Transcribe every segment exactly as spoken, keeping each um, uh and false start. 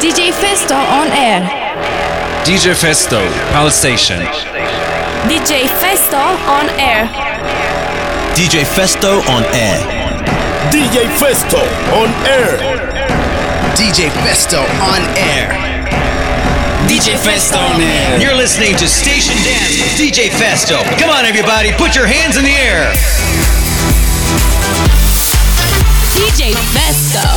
D J Festo on air. D J Festo, Palace Station. D J Festo on air. D J Festo on air. D J Festo on air. D J Festo on air. D J Festo on air. You're listening to Station Dance with D J Festo. Come on, everybody, put your hands in the air. D J Festo.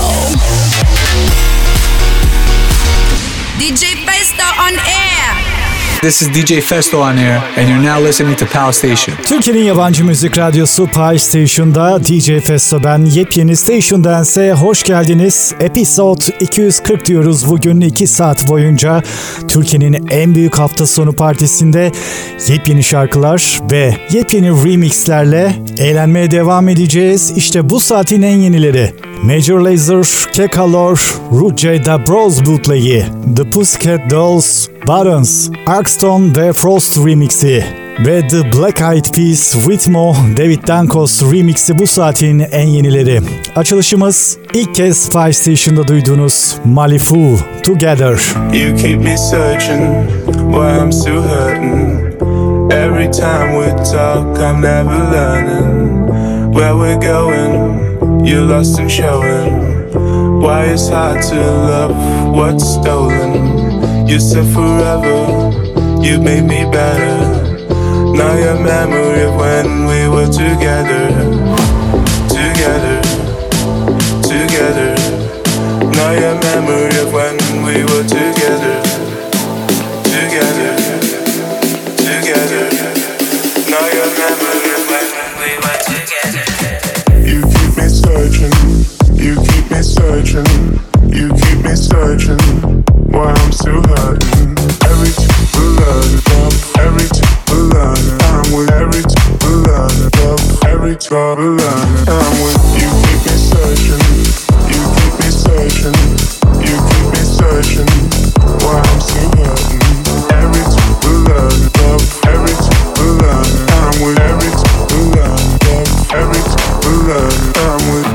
D J Festo on air. This is D J Festo on air and you're now listening to Pal Station. Türkiye'nin yabancı müzik radyosu Pal Station'da D J Festo ben. Yepyeni Station Dance'e hoş geldiniz. Episode iki yüz kırk diyoruz bugün iki saat boyunca. Türkiye'nin en büyük hafta sonu partisinde yepyeni şarkılar ve yepyeni remixlerle eğlenmeye devam edeceğiz. İşte bu saatin en yenileri. Major Lazer, Kekalor, Ruce Da Bros bootleg'i, The Pussycat Dolls, Buttons, Arkstone ve Frost remix'i ve The Black Eyed Peas, Ritmo, David Dankos remix'i bu saatin en yenileri. Açılışımız ilk kez Five Station'da duyduğunuz Malifu, Together. You keep me searching why I'm still hurting. Every time we talk I'm never learning where we're going. You're lost and showing why it's hard to love what's stolen. You said forever, you made me better. Now your memory of when we were together, together, together. Now your memory of when we were together, together, together. Now your memory of when we were together. You keep me searching, you keep me searching, you keep me searching. Why I'm still hurting. Every time we learn love, every time we learn I'm with every time we learn love, every time we learn I'm with you. Keep me searching, you keep me searching, you keep me searching. Why I'm still hurting. Every time we learn love, every time we learn I'm with every time we learn love, every time we learn I'm with.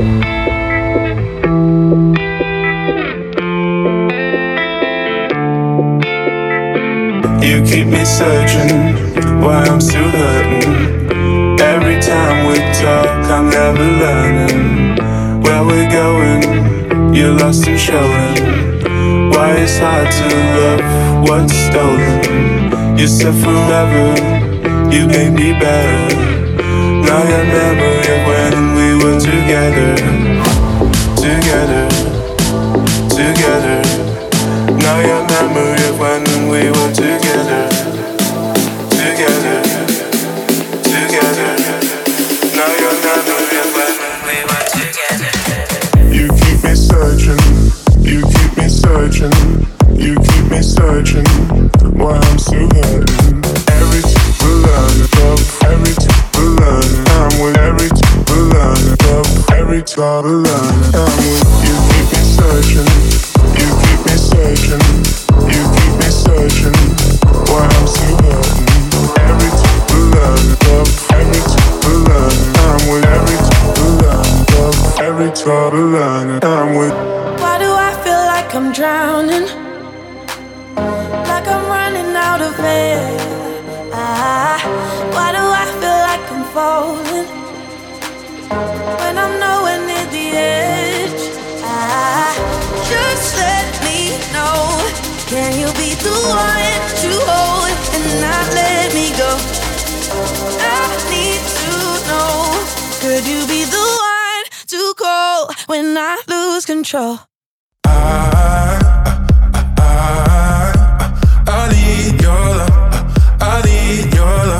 You keep me searching, why I'm still hurting. Every time we talk, I'm never learning where we're going. You're lost and showing why it's hard to love what's stolen. You said forever, you made me better. Now your memory of when we were together, together, together. Now your memory of when we were together, together, together. Now your memory of when we were together. You keep me searching, you keep me searching, you keep me searching. Why I'm still hurting. Every time we learn love, every time we learn I'm with every time we learn love, every time we learn I'm with you. Keep me searching, you keep me searching, you keep me searching. Why I'm still hurting. Every time we learn love, every time we learn I'm with every time we learn love, every time we learn I'm with. Why do I feel like I'm drowning? Like I'm running out of air. Ah, why do I feel like I'm falling when I'm nowhere near the edge? Ah, just let me know. Can you be the one to hold and not let me go? I need to know. Could you be the one to call when I lose control? I, I, I, I need your love. I need your love.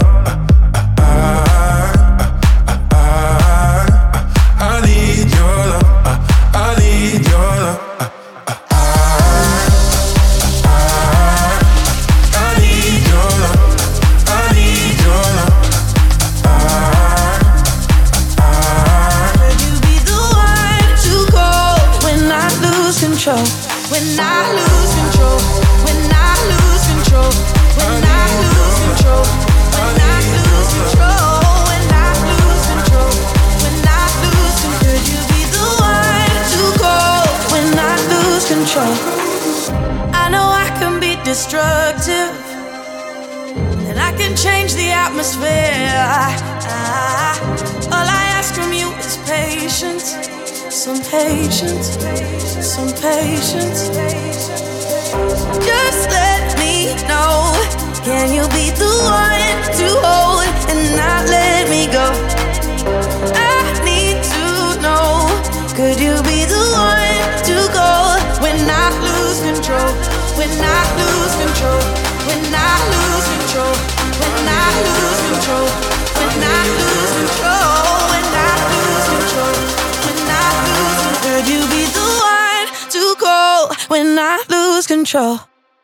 I, I, I need your love. I need your love. Control. When I lose control, when I lose control, when I lose control, when I lose control, when I lose control, when I lose control, could you be the one to go when I lose control? I know I can be destructive, and I can change the atmosphere. I, I, all I ask from you is patience, some patience, some patience. Just let me know, can you be the one to hold and not let me go? I need to know, could you be the one to go when I lose control? When I lose control, when I lose control, when I lose control, when I lose control, when I lose control, when I lose control. Could you be the one to go when I lose control?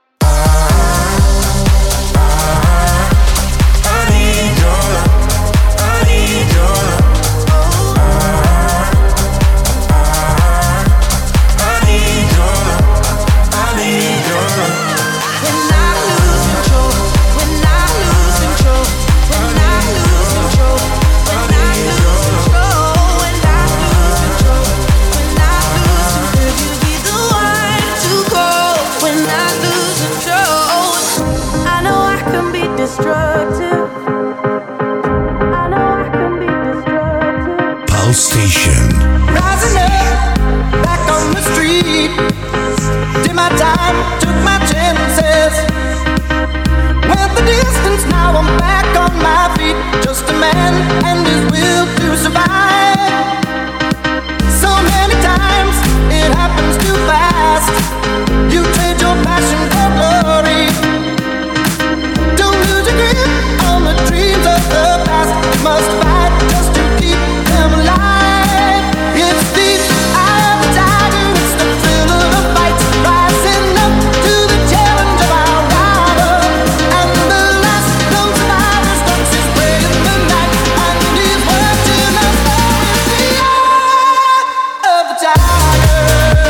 Station. Rising up, back on the street. Did my time, took my chances. Went the distance, now I'm back on my feet. Just a man and his will to survive. So many times, it happens too fast. You trade your passion for glory. Don't lose your grip on the dreams of the past. You must fight just to keep them alive. It's the eye of the tiger, it's the thrill of the fight, rising up to the challenge of our rival. And the last known survivor stalks his prey in the night, and he's watching us all. It's the eye of the tiger.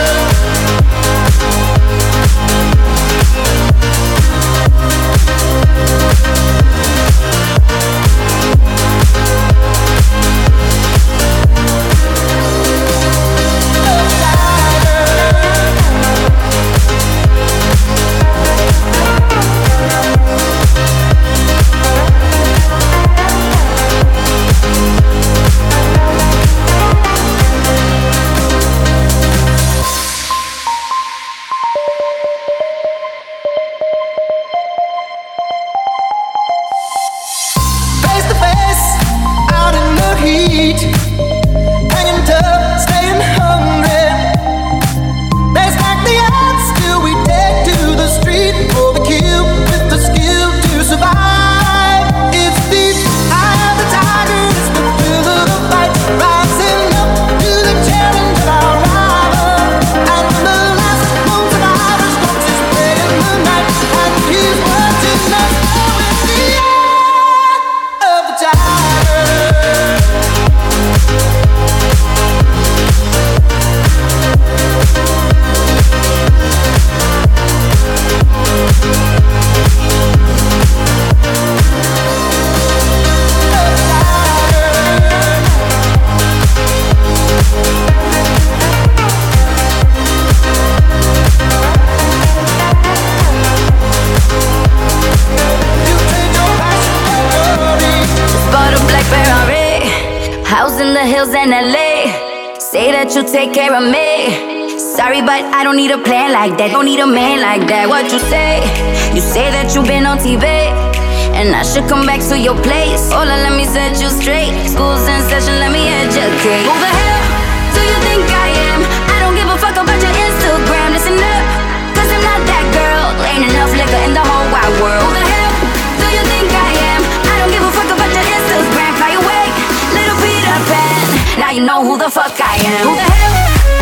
You take care of me. Sorry, but I don't need a plan like that. Don't need a man like that. What you say? You say that you've been on T V, and I should come back to your place. Hola, let me set you straight. School's in session, let me educate. Who the hell do you think I am? I don't give a fuck about your Instagram. Listen up, cause I'm not that girl. Ain't enough liquor in the whole wide world. Who the hell do you think I am? I don't give a fuck about your Instagram. Fly away, little Peter Pan. Now you know who the fuck I am. Who the hell?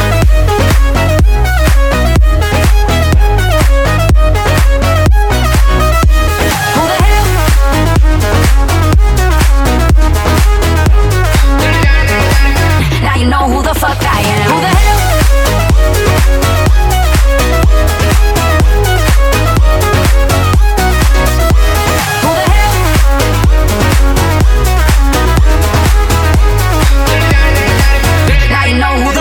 Who the hell? Now you know who the fuck I am. Who the hell? Who the hell? Now you know who the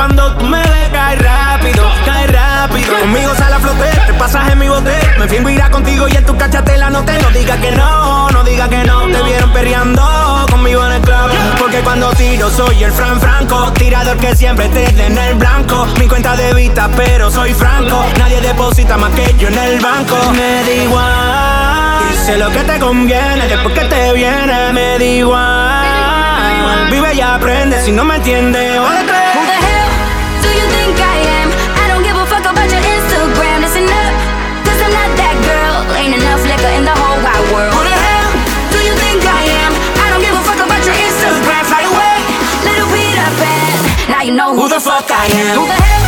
cuando tú me ves cae rápido, cae rápido. Conmigo sale a flote, te pasas en mi bote. Me fingo irá contigo y en tu cachate la noté. No diga que no, no diga que no. Te vieron perreando conmigo en el club. Porque cuando tiro soy el Fran Franco, tirador que siempre te dé en el blanco. Mi cuenta de vista pero soy franco. Nadie deposita más que yo en el banco. Me da igual, sé lo que te conviene. Después que te viene, me da igual. Vive y aprende, si no me entiendes. Who the hell do you think I am? I don't give a fuck about your Instagram. Listen up, cause I'm not that girl. Ain't enough liquor in the whole wide world. Who the hell do you think I am? I don't give a fuck about your Instagram. Fly away, little Peter Pan. Now you know who, who the fuck I am. Who the hell?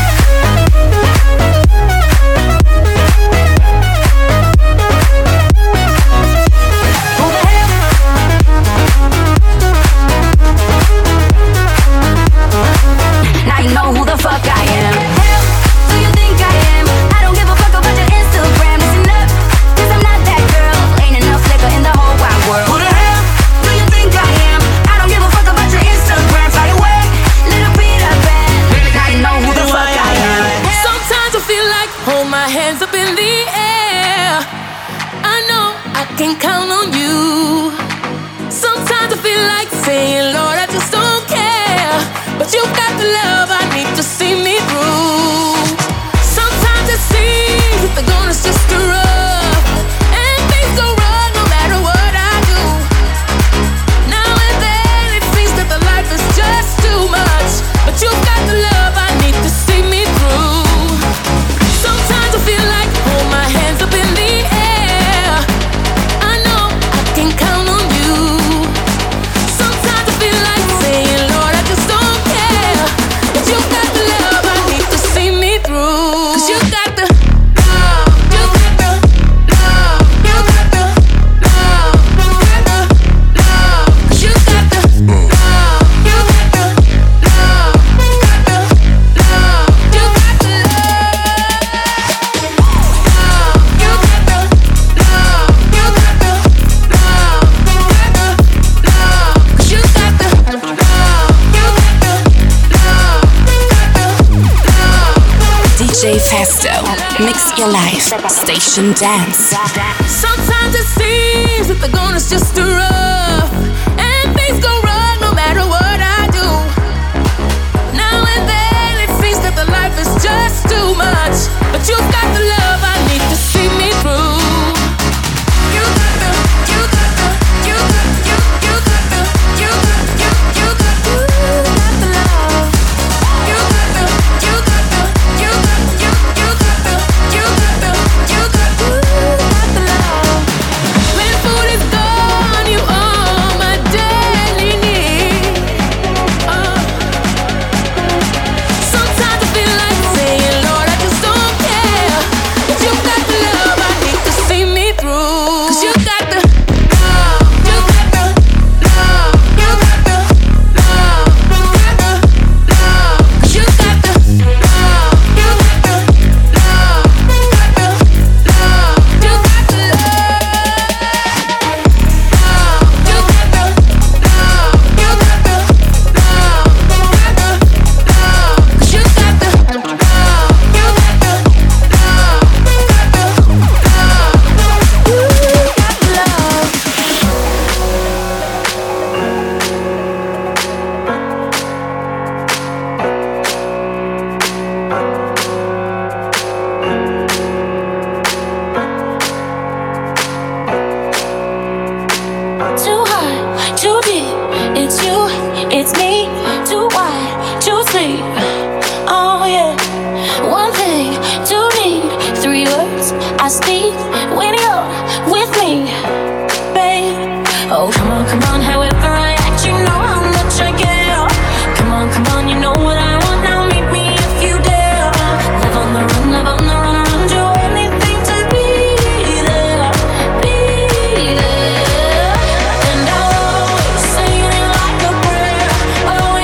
You know who the fuck I am. Hell, do you think I am? I don't give a fuck about your Instagram. Listen up, cause I'm not that girl. Ain't enough liquor in the whole wide world. Who the hell do you think I am? I don't give a fuck about your Instagram. Fly away, little Peter Pan. Now you know who the fuck I am. Sometimes I feel like hold my hands up in the air. I know I can count on you. Sometimes I feel like saying, Lord, I just don't care. But you got the love I need to see me through. Sometimes it seems that the going is just too rough, and things go wrong no matter what I do. Now and then it seems that the life is just too much, but you got the love I need to see me through. Sometimes I feel like hold my hands up in the air. I know I can count on you. Sometimes I feel like saying, Lord, I just don't care. But you got the love I need to see me through. Cause you got the love, you got the love, you got the love, you got the love. Cause you got the love, you got the love, you got the love, you got the love. Love, you got the love, you got the love, you got the love. Cause you got the love, you got the love, you got the love. D J Festo, mix your life, station dance. Sometimes it seems that the going is just too rough, and things go wrong no matter what I do. Now and then it seems that the life is just too much, but you got the love I need to see me through. You got the, you got the, you got, you, you got the, you got, you, you got, you got the love. You got the, you got the, you got, you, you got the, you got the, you got, you got the love. When food is gone, you are my daily need. Uh. Sometimes I feel like saying, Lord, I just don't care. But you got the love I need to see me through. Cause you got the love, you got the love, you got the love, you got the love. Cause you got the love, you got the love, you got the love, you got the love. Love, you got the love, you got the love, you got the love. Cause you got the love, you got the love, you got the love, you got the love. Too high, too deep. It's you, it's me. Too wide, too sleep. Oh yeah. One thing, two need, three words I speak when you're with me, babe. Oh come on, come on. However I act, you know how much I care. Come on, come on. You know what I want now. Meet me if you dare. Live on the run, live on the run, run. Do anything to be there, be there. And I'll always say it like a prayer. Oh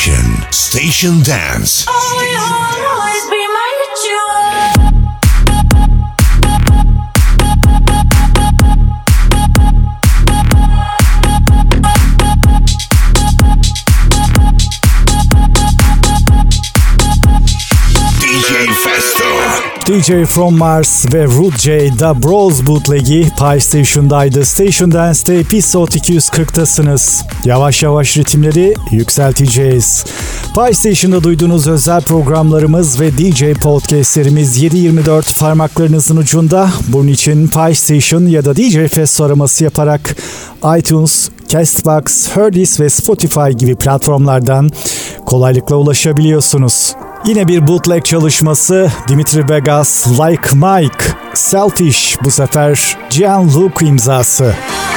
Station. Station Dance. Oh, you'll always be my jewel. D J From Mars ve Rude J, The Bros Bootleg'i Pi Station'daydı. Station Dance'te Episode iki yüz kırk'tasınız. Yavaş yavaş ritimleri yükselteceğiz. Pi Station'da duyduğunuz özel programlarımız ve D J podcastlerimiz yedi yirmi dört parmaklarınızın ucunda. Bunun için Pi Station ya da D J Fest araması yaparak iTunes, Castbox, Heardis ve Spotify gibi platformlardan kolaylıkla ulaşabiliyorsunuz. Yine bir bootleg çalışması, Dimitri Vegas, Like Mike, Selfish, bu sefer Gianluca imzası.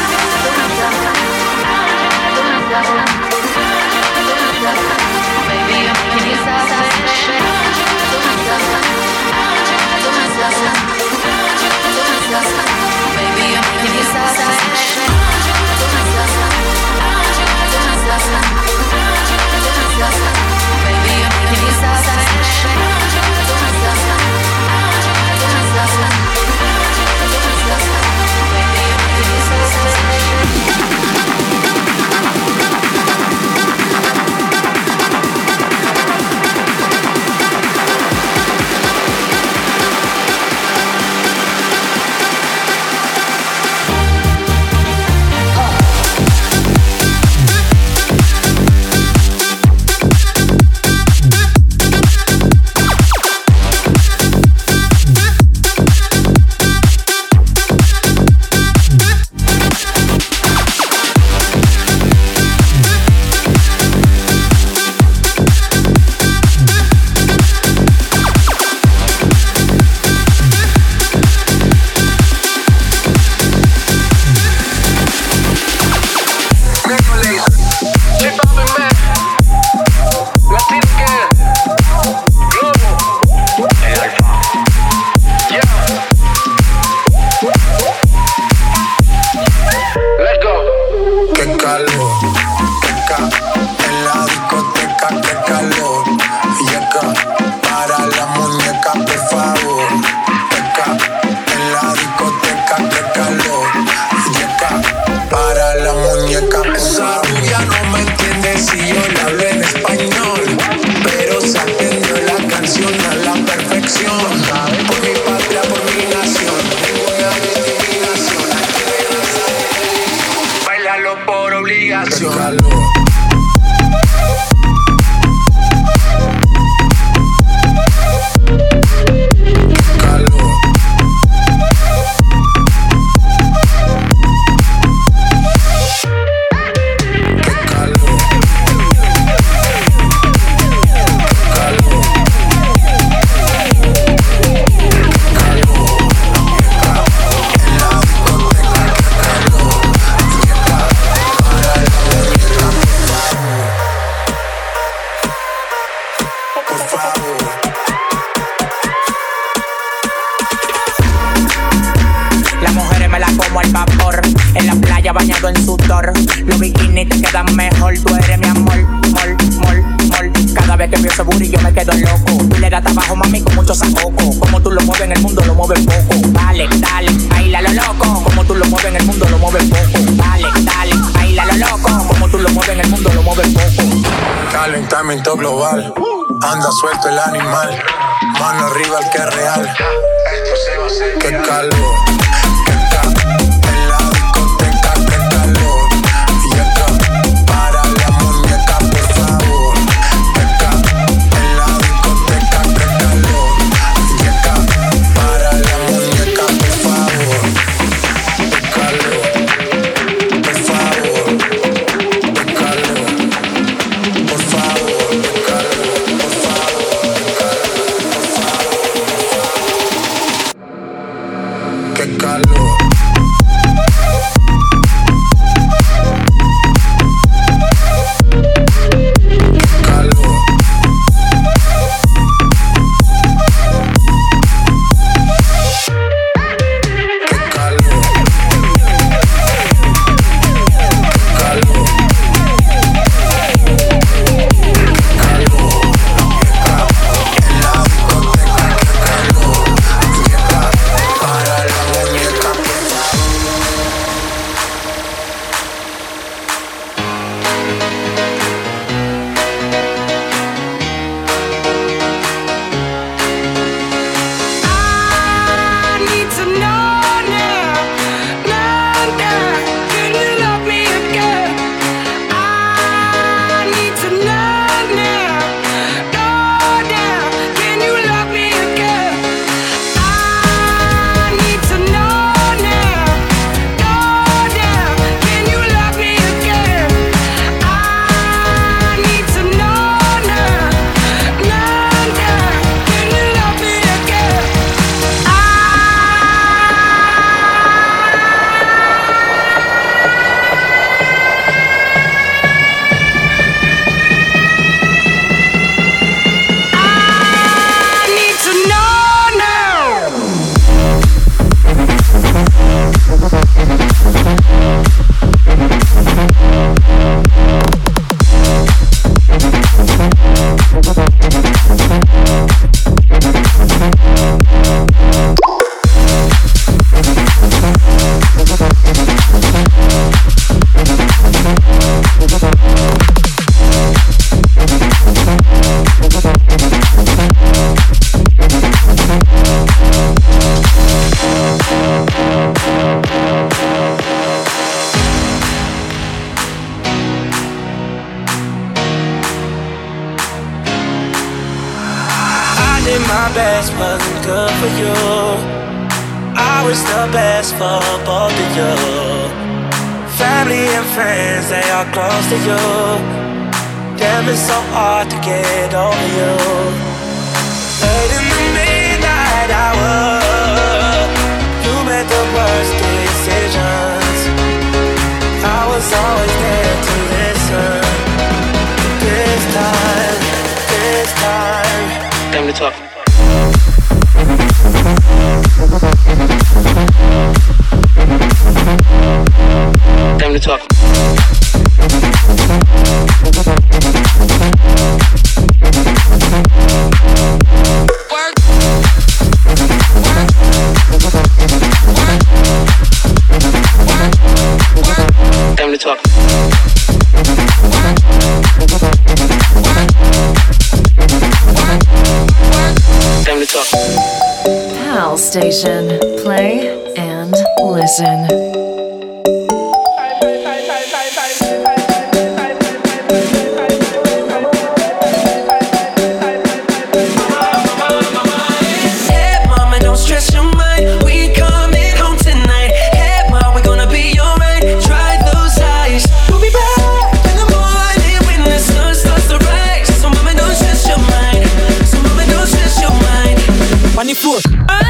Global, anda suelto el animal, mano arriba el que es real. Esto se va a hacer. Qué calor, qué calor, en la discoteca, qué calor. Y acá, para la muñeca, por favor. Qué calor, en la discoteca, qué calor. Y acá, para la muñeca, por favor. Qué calor, por favor. Qué calor, por favor. Qué calor. I wish the best for both of you. Family and friends, they are close to you. Damn, it's so hard to get over you. Late in the midnight hour, you made the worst decisions. I was always there to listen. This time, this time, time to talk. Time to talk. Work. Time to talk. Time to talk. Pal Station. Play and listen. Floor.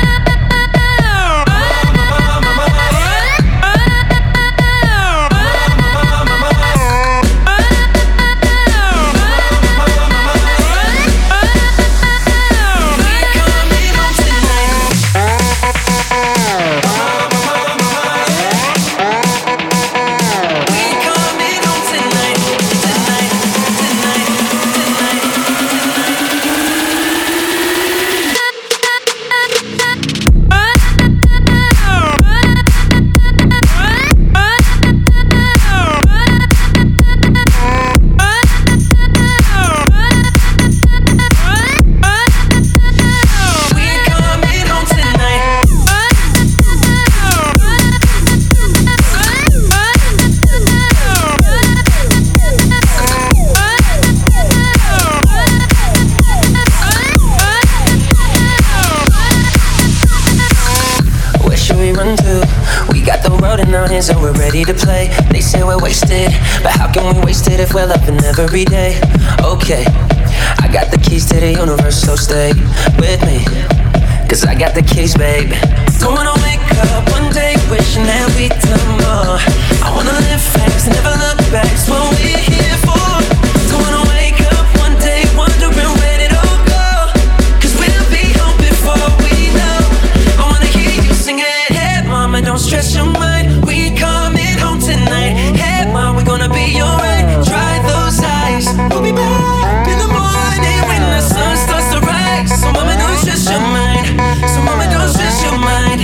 So we're ready to play. They say we're wasted, but how can we waste it if we're loving every day? Okay, I got the keys to the universe, so stay with me, cause I got the keys, babe. Don't wanna wake up one day wishing that we'd done more. I wanna live fast, never look back, it's what we're here for. Don't wanna wake up one day wondering where it all go, cause we'll be home before we know. I wanna hear you sing it. Hey mama, don't stress your mind, we coming home tonight. Hey mom, we're gonna be alright. Dry those eyes, we'll be back in the morning when the sun starts to rise. So mama, don't stress your mind, so mama, don't stress your mind.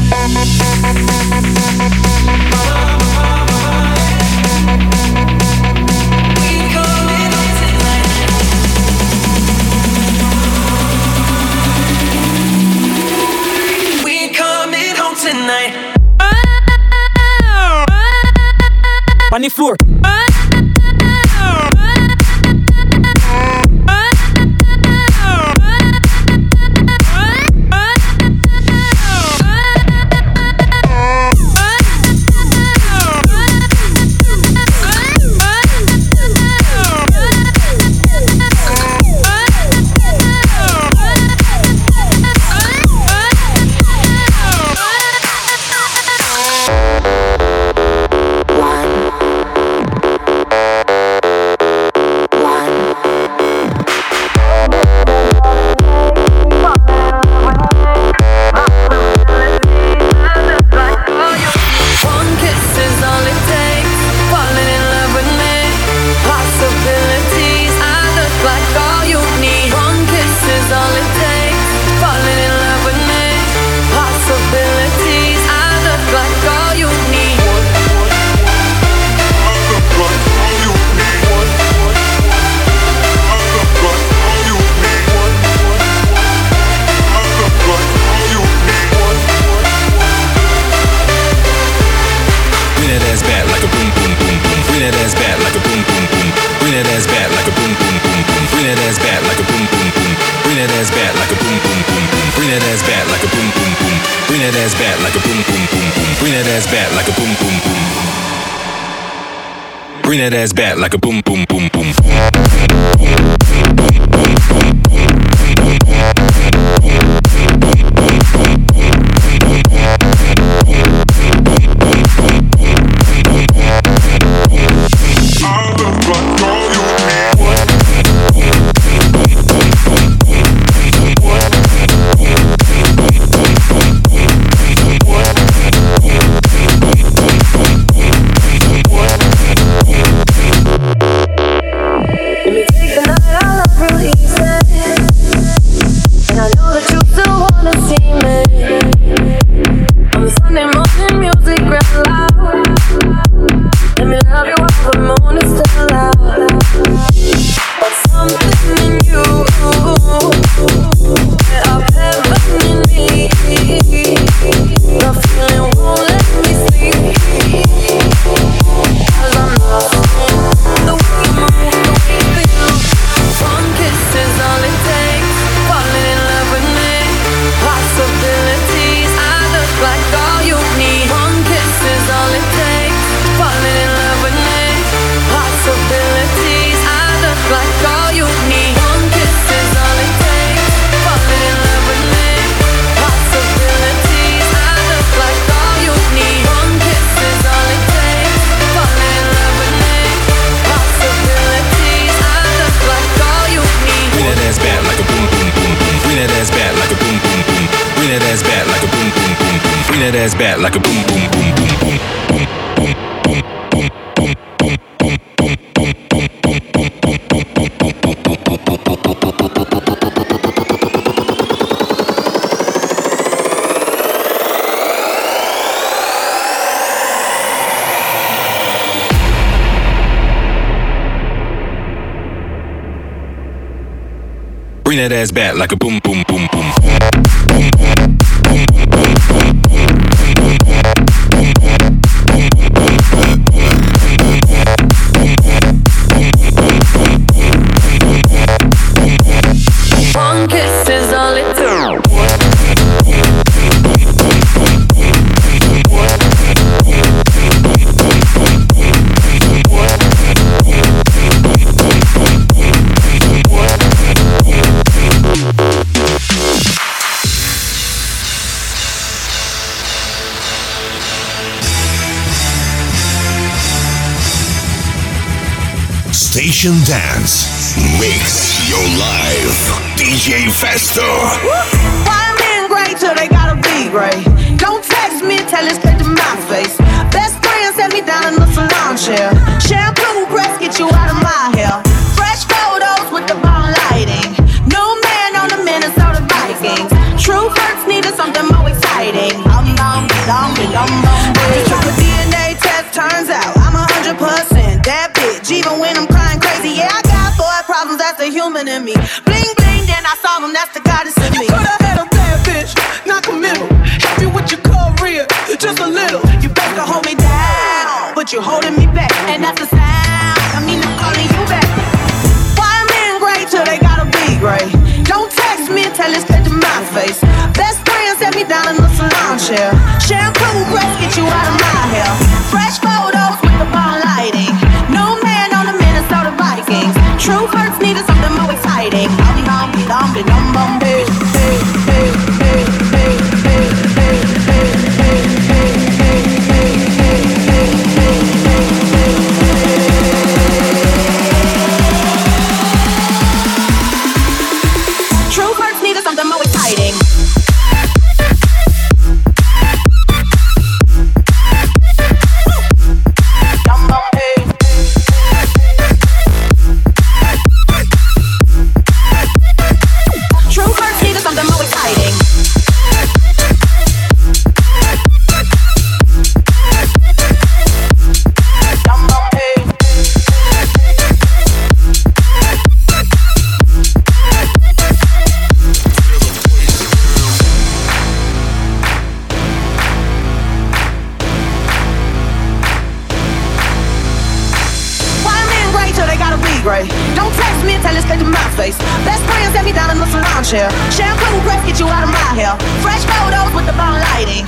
We coming home tonight. We coming home tonight. On the floor. that ass back like a boom, boom, boom, boom. Bring that ass back like a boom, boom, boom. Bring that ass back like a boom, boom, boom, boom. That ass back like a boom, boom, boom, boom, boom, boom, boom, boom, boom, boom, boom, boom, boom, bring that ass back like a boom, boom, boom, boom. Station Dance. Mix your life. D J Festo. Why men great till they gotta be great? Don't text me, tell it straight to my face. Best friend set me down in the salon chair. Shampoo press, get you out of my hair. Fresh photos with the bomb lighting. New man on the Minnesota Vikings. True hurts needed something more exciting. Um, um, um, um, um. Just took a D N A test, turns out I'm a hundred percent that bitch. Even when I'm crying crazy, yeah, I got boy problems, that's the human in me. Bling bling, then I saw him, that's the goddess in me. You could've had a bad bitch, not committal. Help you with your career, just a little. You better hold me down, but you're holding me back, and that's the sound. I mean, I'm calling you back. Why men great till they gotta be great? Don't text me, tell it straight to my face. Best friend set me down in the salon chair. Shampoo press, get you out of my hair. Fresh photos with the bomb lighting. New man on the Minnesota Vikings. True hurts needed something more exciting. I'll be home, be home, be home, home, hey, hey, hey, hey, hey, hey, hey, hey, hey, hey, hey, hey, hey, hey. True hurts needed something more exciting. Don't text me and tell it straight to my face. Best friend set me down in the salon chair. Shampoo press, get you out of my hair. Fresh photos with the bomb lighting.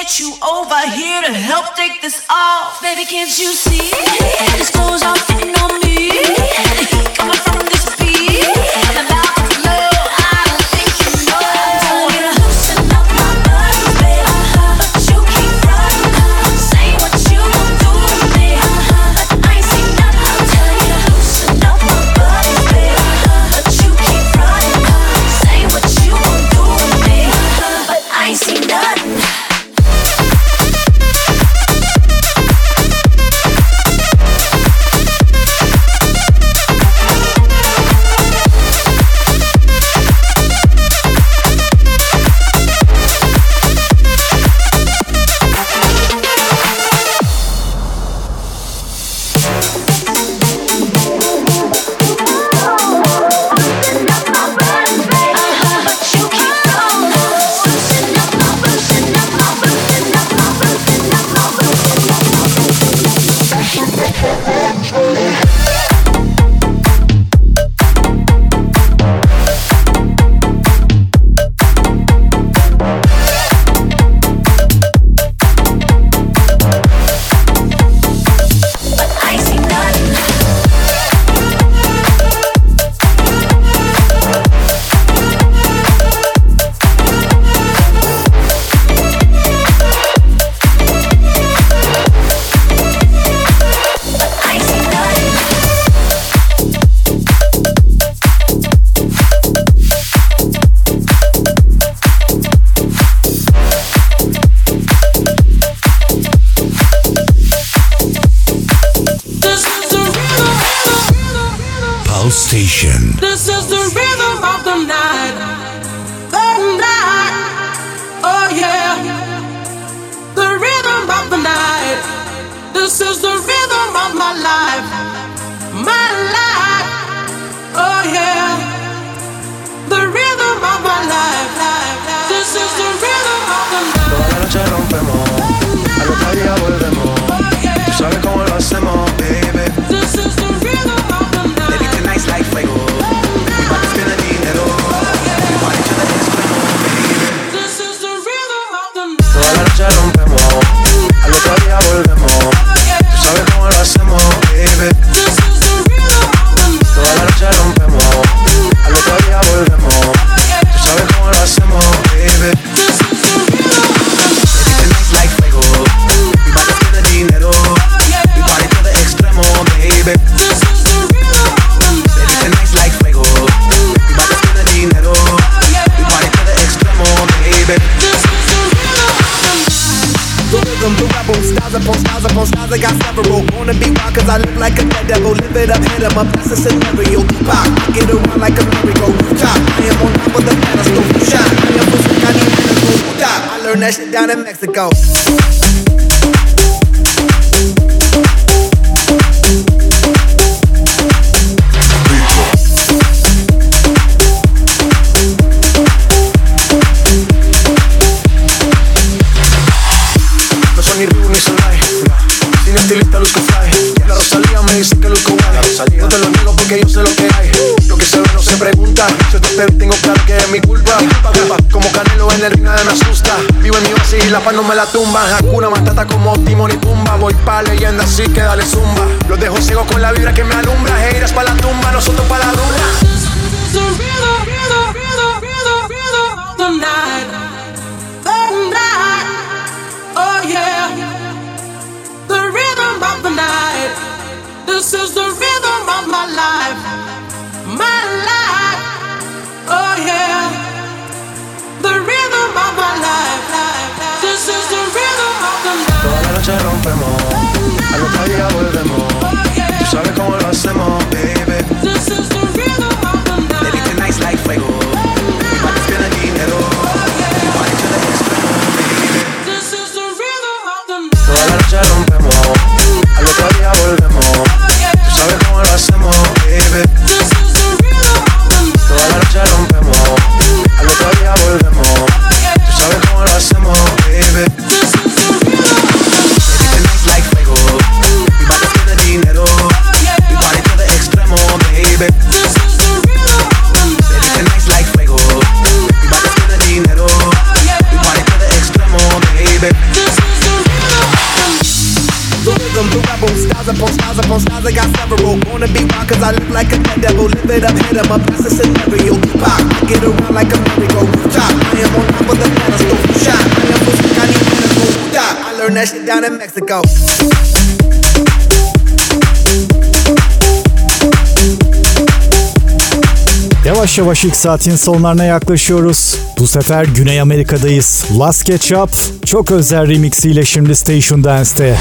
get you over here to help take this off. Baby, can't you see? These clothes are fitting on me. The heat coming from this beat. I'm about to blow. I don't think you know. I'm telling you to loosen up my body, baby. But you keep running. Say what you gon' do to me. But I ain't seen nothing. I'm telling you to loosen up my body, baby. But you keep running. Say what you gon' do to me. But I ain't seen nothing. Station. This is the rhythm of the night. The night. Oh yeah. The rhythm of the night. This is the rhythm of my life. My life. Oh yeah. The rhythm of my life. This is the rhythm of the night. Toda la noche rompemos. Al otro día volvemos. Tú sabes cómo lo hacemos, baby. This is the rhythm of the night. Baby, tonight's like fuego. Mi parte es de dinero. Mi parte es de extremo, baby. This is the rhythm of the night. Toda la noche rompemos. Al otro día volvemos. Tú sabes cómo lo hacemos, baby. This is the rhythm of the night. Toda la noche rompemos. Al otro día volvemos. Tú sabes cómo lo hacemos, baby. This is the rhythm of the night. Baby, tonight's like fuego. Mi parte es de dinero. Mi parte es de extremo, baby. This is the rhythm of the night. Baby, tonight's like fuego. Mi parte es de dinero. Mi parte es de extremo, baby. This is the rhythm of the night. The rhythm, the rebel, styles upon styles upon styles, I got several. Wanna be wild cause I look like a dead devil. Live it up, hit em up, that's a scenario. Pop, get around like a merry-go. Rooftop, I am on top of the pedestal. Shine, I am pushing, I need medical. Stop, I learned that shit down in Mexico. Ni Ryu ni Solay, sin estilista luzco fly. La Rosalía me dice que luzco guay. No te lo niego porque yo sé lo que hay. Lo que se ve no se pregunta. Si te pego tengo claro que es mi culpa. Como Canelo en el ring nada me asusta. Vivo en mi oasis y la paz no me la tumba. Hakuna Matata como Timón y Pumba. Voy pa' leyenda así que dale zumba. Los dejo ciego con la vibra que me alumbra. Heiras pa' la tumba, nosotros pa' la rumba. The rhythm, rhythm, rhythm, rhythm, rhythm of the night. The night. Oh yeah, the rhythm of the night. This is the rhythm of my life, my life. Oh yeah, the rhythm of my life. This is the rhythm of the night. Toda la noche rompemos, al otro día volvemos. Tú sabes cómo lo hacemos, baby. This is the rhythm of the night. Baby, tonight's like fuego. Mi parte es de dinero. Styles upon styles upon styles, I got several. Wanna be wild cause I look like a dead devil. Live it up, hit 'em up, that's a scenario. Pop, get around like a merry-go. Top, I am on top of the pedestal. Shot, I am so sick, I need medical. Stop, I learned that shit down in Mexico. Yavaş yavaş ilk saatin sonlarına yaklaşıyoruz. Bu sefer Güney Amerika'dayız. Last Ketchup çok özel remixiyle şimdi Station Dance'te.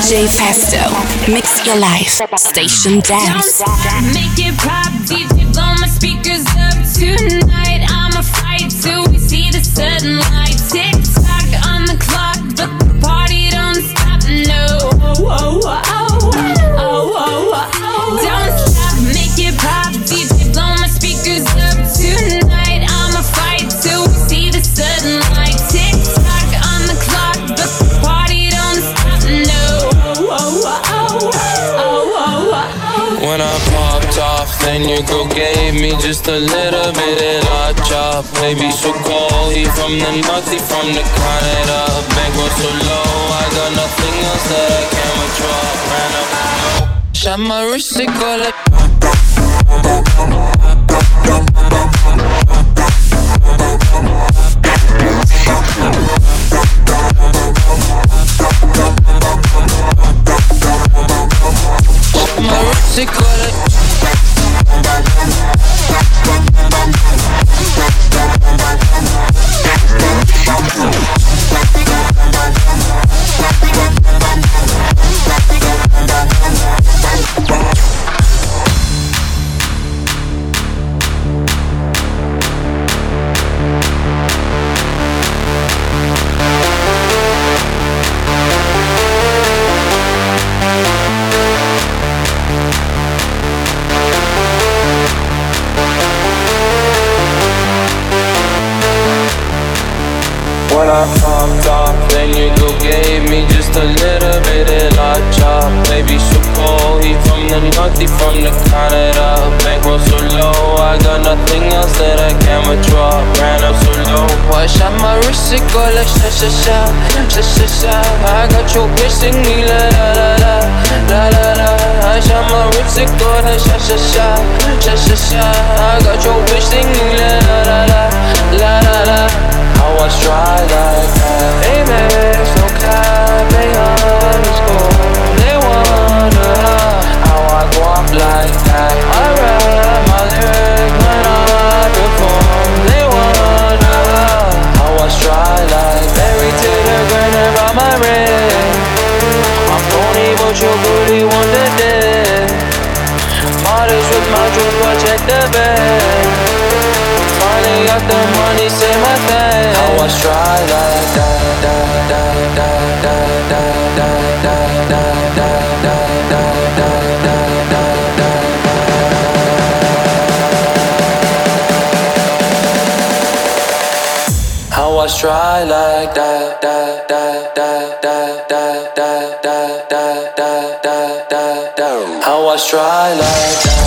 J Festo, mix your life, station dance. Don't make it pop, D J blow my speakers up tonight. I'ma fight till we see the sunlight. Tick tock on the clock, but the party don't stop. No, oh, oh, oh, oh, oh, oh, oh. Don't stop, make it pop, D J blow my speakers up tonight. I'ma fight till we see the sunlight. Tick tock on the clock, but the party don't stop. No, oh, oh, oh, oh, oh, oh. When I popped off, then your girl gave me just a little bit of la chop. Baby, so cold, he from the north, he from the Canada. Bankroll so low, I got nothing else that I can withdraw. Ran up low, shot my wrist, they call it. My wrist, they call it. When I popped off, then your girl gave me just a little bit of la chop. Baby, so cold, he from the north, he from the Canada. Bankroll so low, I got nothing else that I can withdraw. Ran up so low, I shot my wrist, it go like sha sha sha, sha sha sha. I got your bitch sing me la la la la, la la la. I shot my wrist, it go like sha sha sha, sha sha sha. I got your bitch sing me la la la la, la la la. I was dry like that. Amex, no cap, they underscore. They wonder how I go up like that. I rap my lyrics when I perform. They wonder how I was dry like Married to the grind around my ring. I'm phony, but your booty want the dick. Modest with my drip, I check the bag. Finally got the money, say my thing. I was dry like that, that, that, that, that, that, that, that, that, that, I was dry like that, that, that, that, that, that, that, that, that, that, that, that. I was dry like that.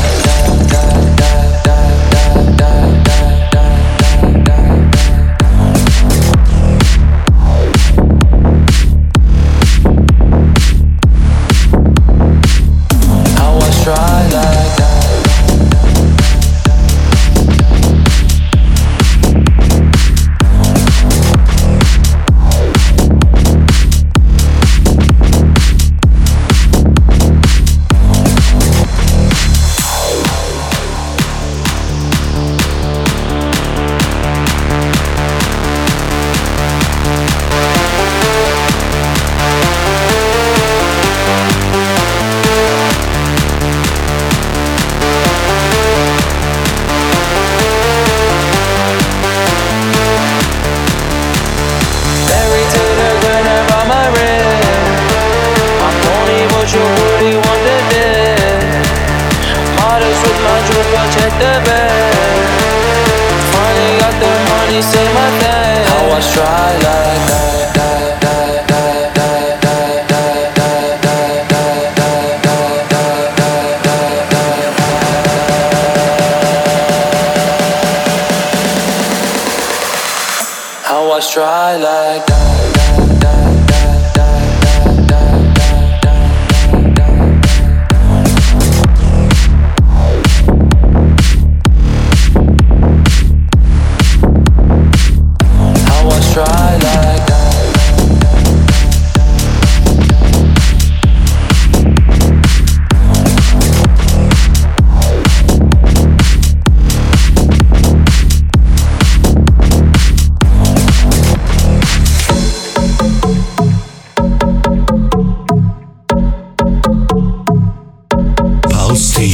Try like that.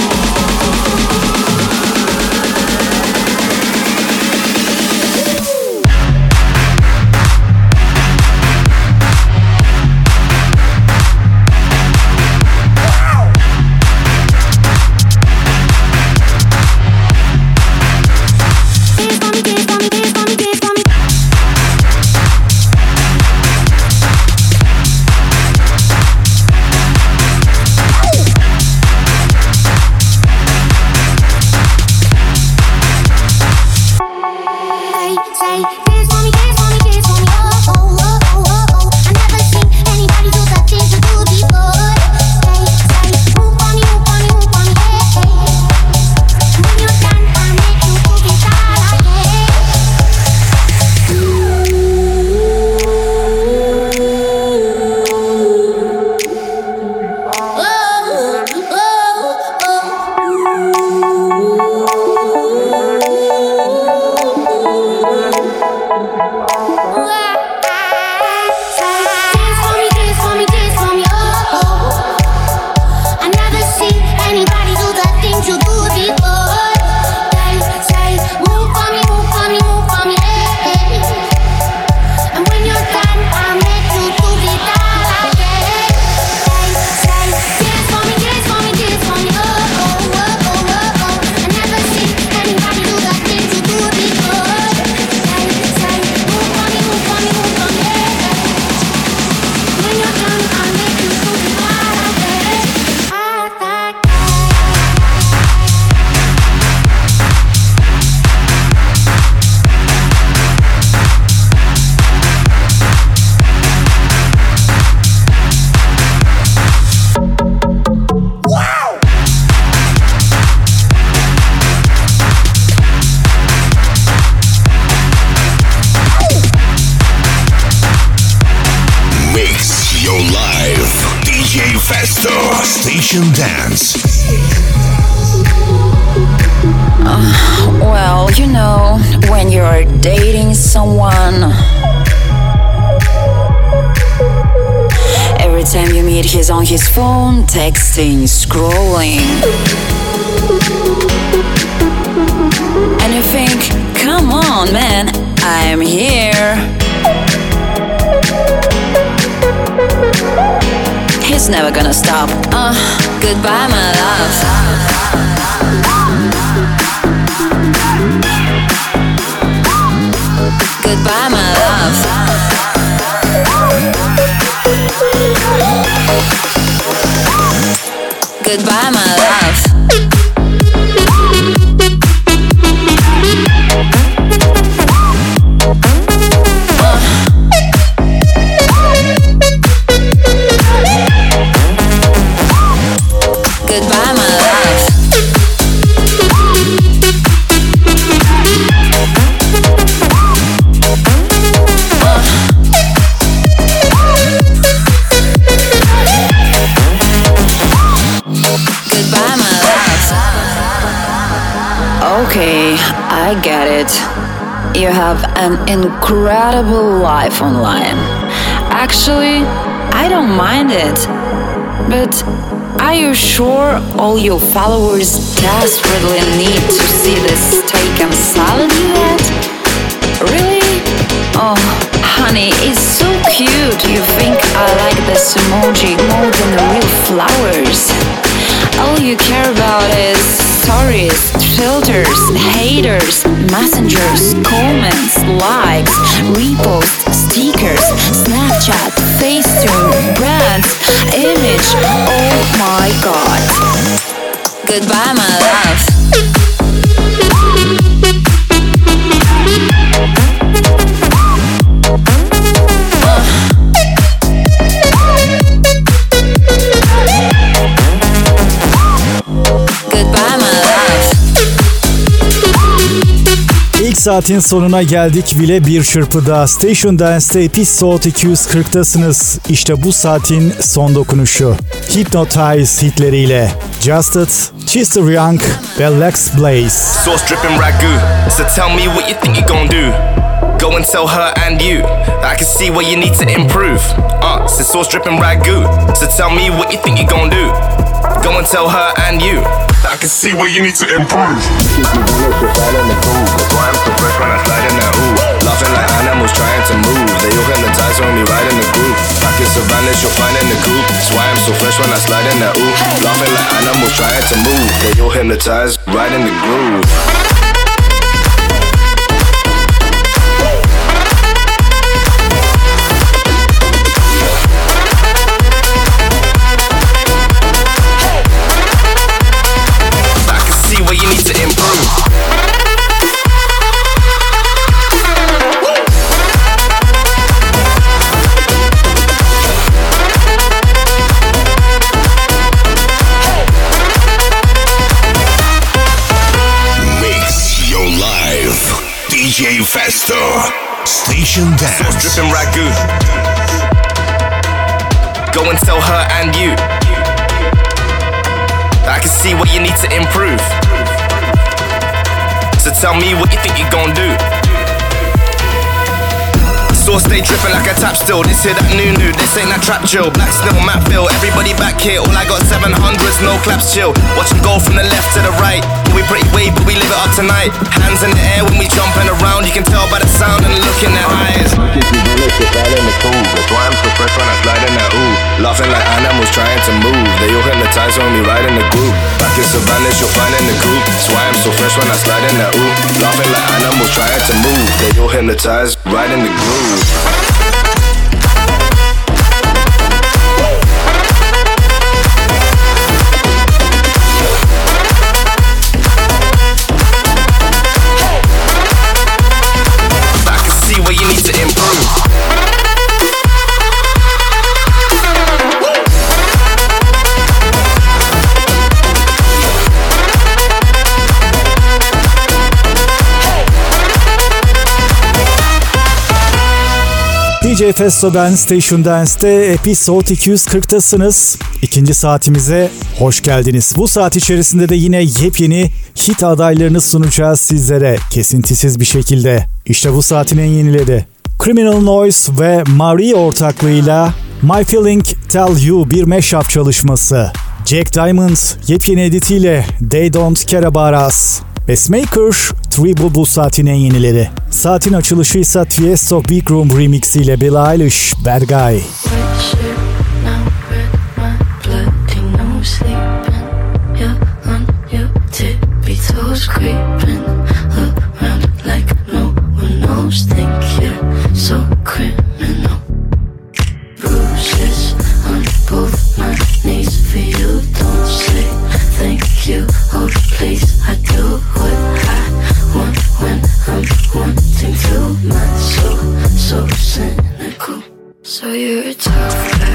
Station Dance. Uh, well, you know, when you're dating someone, every time you meet, he's on his phone, texting, scrolling. And you think, come on, man, I'm here. He's never gonna stop. Uh, goodbye, my love. Goodbye, my love. Goodbye, my love. Goodbye, my love. Goodbye, my love. Okay, I get it. You have an incredible life online. Actually, I don't mind it. But are you sure all your followers desperately need to see this steak and salad you had? Really? Oh, honey, it's so cute. You think I like this emoji more than the real flowers. All you care about is stories, filters, haters, messengers, comments, likes, reposts, stickers, Snapchat, Facetune, brands, image. Oh my god. Goodbye, my love. saatin sonuna geldik bile bir çırpıda. Station Dance'te Episode iki yüz kırktasınız. İşte bu saatin son dokunuşu. Hypnotize hitleriyle Just It, Chester Young ve Lex Blaze. Sauce dripping ragu, so tell me what you think you're gonna do. Go and tell her and you I can see where you need to improve. Uh, it's sauce dripping ragu, so tell me what you think you're gonna do. Go and tell her and you I can see where you need to improve. That's why I'm so fresh when I slide in that ooh. Laughing like animals trying to move. They all hypnotize when we ride in the groove. Back in Savannah, you'll find in the coop. That's why I'm so fresh when I slide in that ooh. Laughing like animals trying to move. They all hypnotize right in the groove. Where you need to improve. Mix your life. D J Festo. Station Dance. Sauce dripping ragu. Go and tell her and you I can see what you need to improve. So tell me what you think you're gonna do. Sauce stay dripping like a tap still. This here that new new, this ain't that trap chill. Black still, Matt Phil, everybody back here. All I got seven hundreds, no claps chill. Watch them go from the left to the right. Yeah, we pretty wave, but we live it up tonight. Hands in the air when we jumping around. You can tell by the sound and the look in their eyes. That's why I'm so fresh when I slide in that ooh. Laughing like animals trying to move. They all hypnotize when we ride in the groove. Back in Savannah, you'll find in the coop. That's why I'm so fresh when I slide in that ooh. Laughing like animals trying to move. They all hypnotize right in the groove. I can see where you need to improve. D J Festo'dan Station Dance'te Episode iki yüz kırktasınız. İkinci saatimize hoş geldiniz. Bu saat içerisinde de yine yepyeni hit adaylarını sunacağız sizlere kesintisiz bir şekilde. İşte bu saatin en yenileri. Criminal Noise ve Marie ortaklığıyla My Feeling Tell You bir mashup çalışması. Jack Diamond yepyeni editiyle They Don't Care About Us. Pacemaker, Triple bu saatin en yenileri. Saatin açılışı ise Tiesto Big Room Remix ile Billie Eilish, Bad Guy. So you're a tough guy.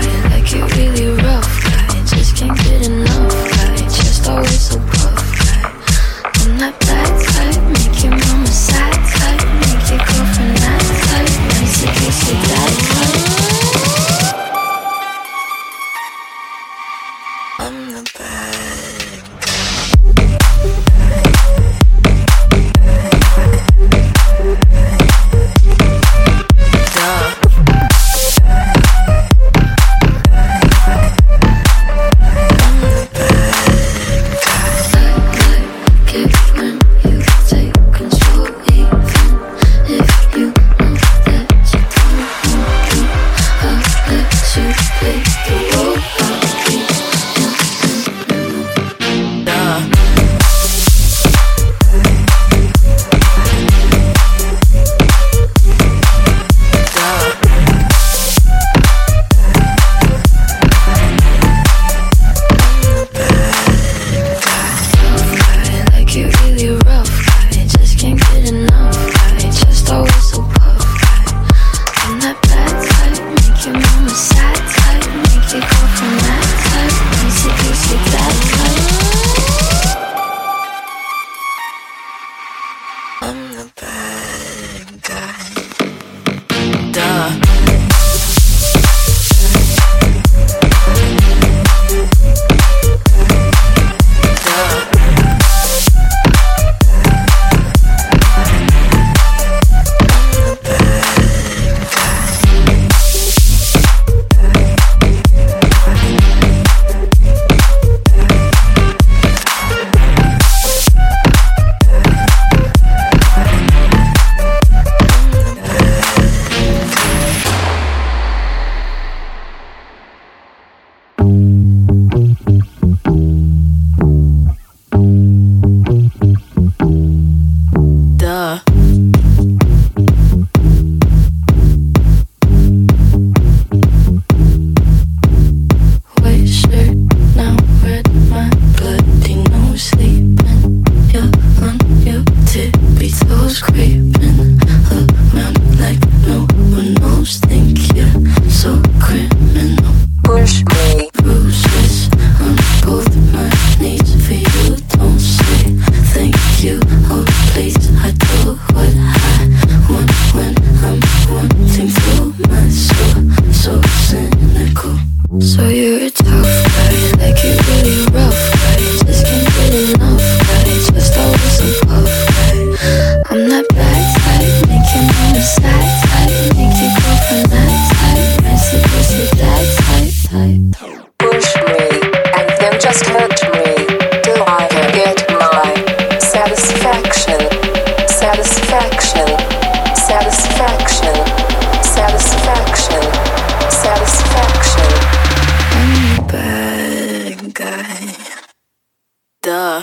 just hurt me till I can get my satisfaction, satisfaction, satisfaction, satisfaction, satisfaction. I'm a bad guy. Duh.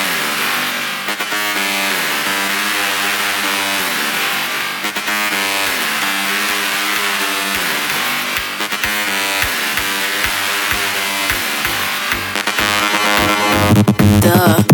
Duh.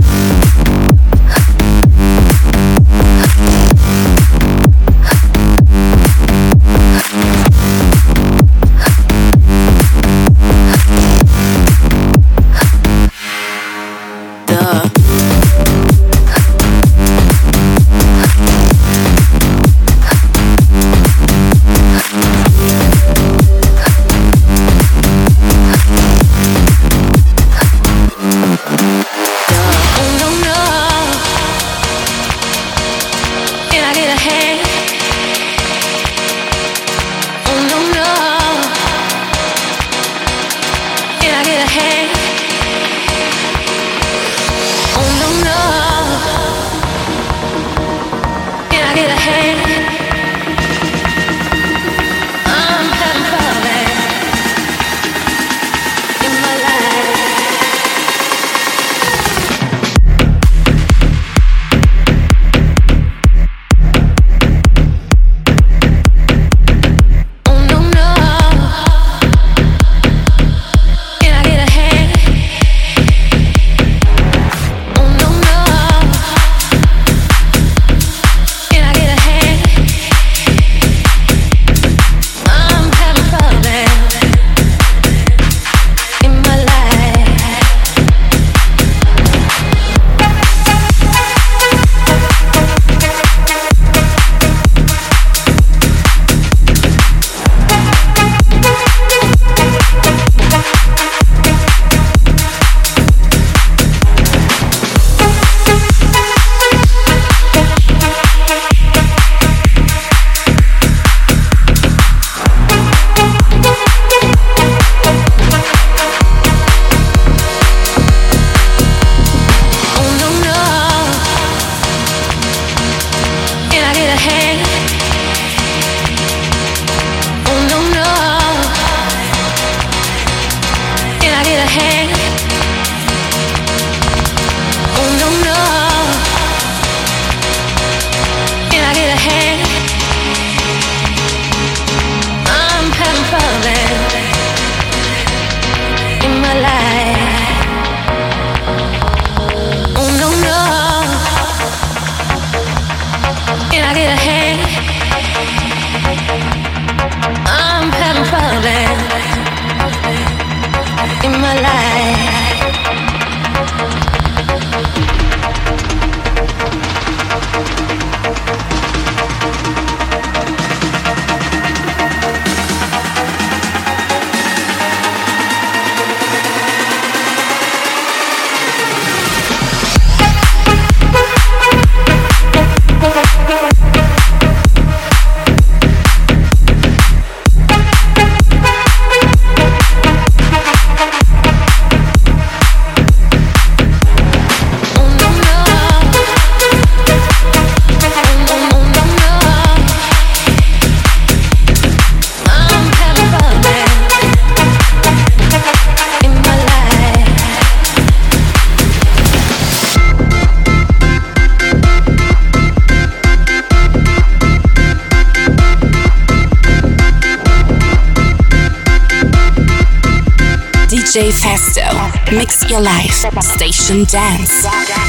D J Festo, mix your life, station dance.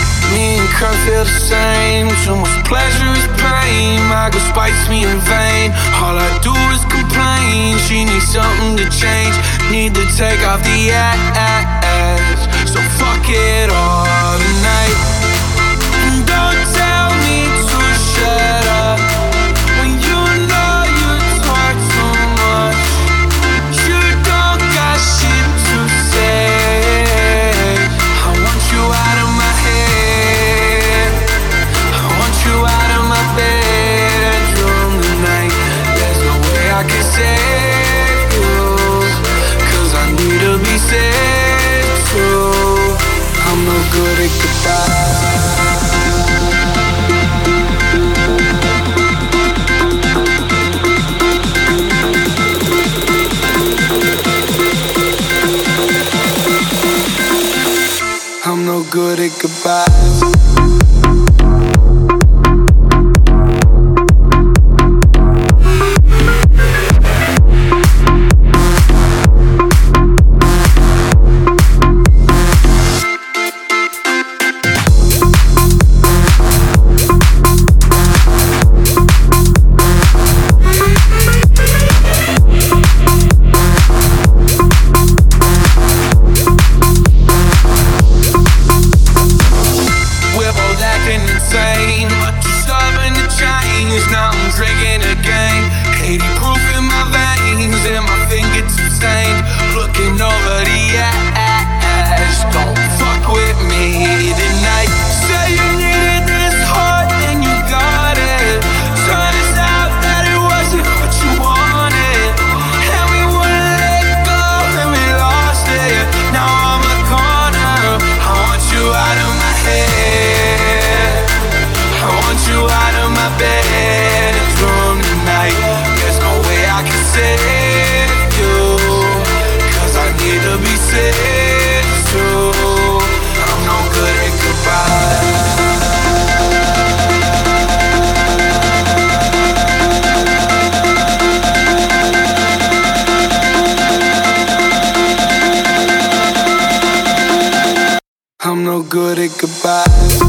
Me and Kurt feel the same. Too much pleasure is pain. My girl spites me in vain. All I do is complain. She needs something to change. Need to take off the ass. So fuck it all tonight. And don't tell me to shut up when you know you talk too much. You don't got shit to say. I want you out of my head. I want you out of my bedroom tonight. There's no way I can save you, 'cause I need to be saved. good at goodbye. I'm no good at goodbyes. I'm no good at goodbyes.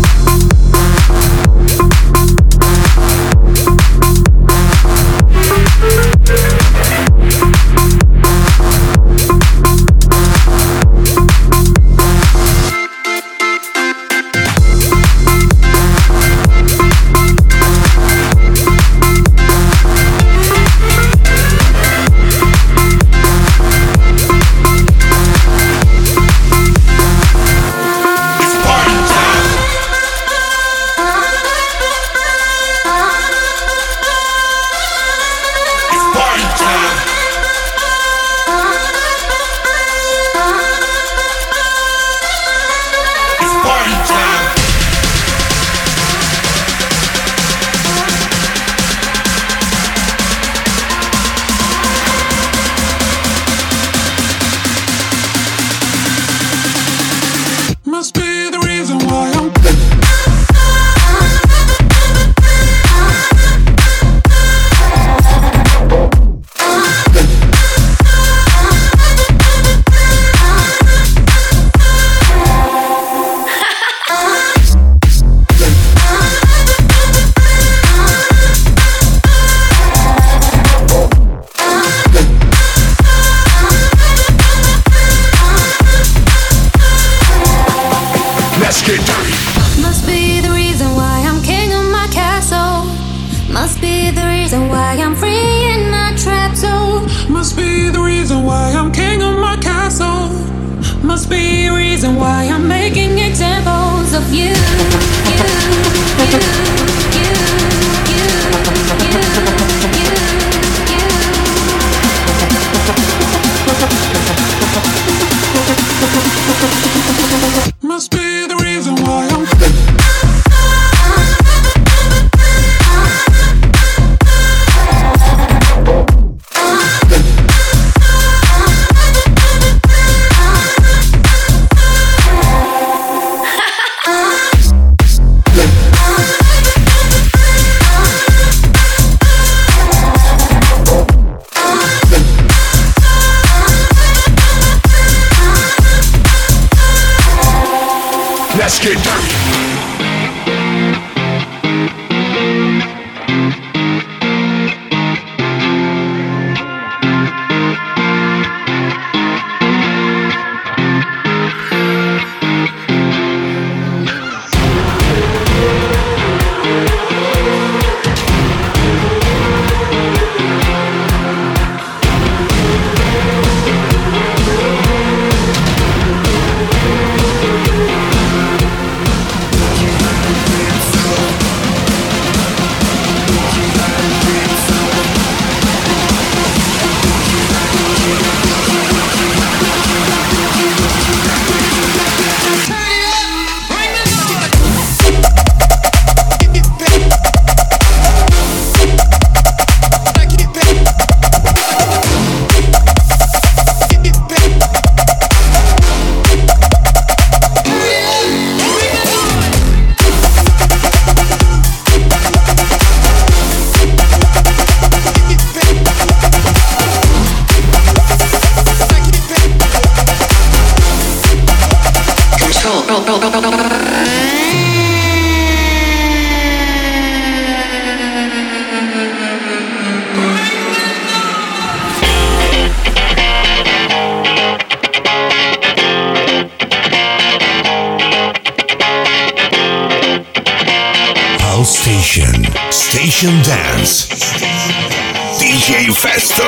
House Station, Station Dance, D J Festo.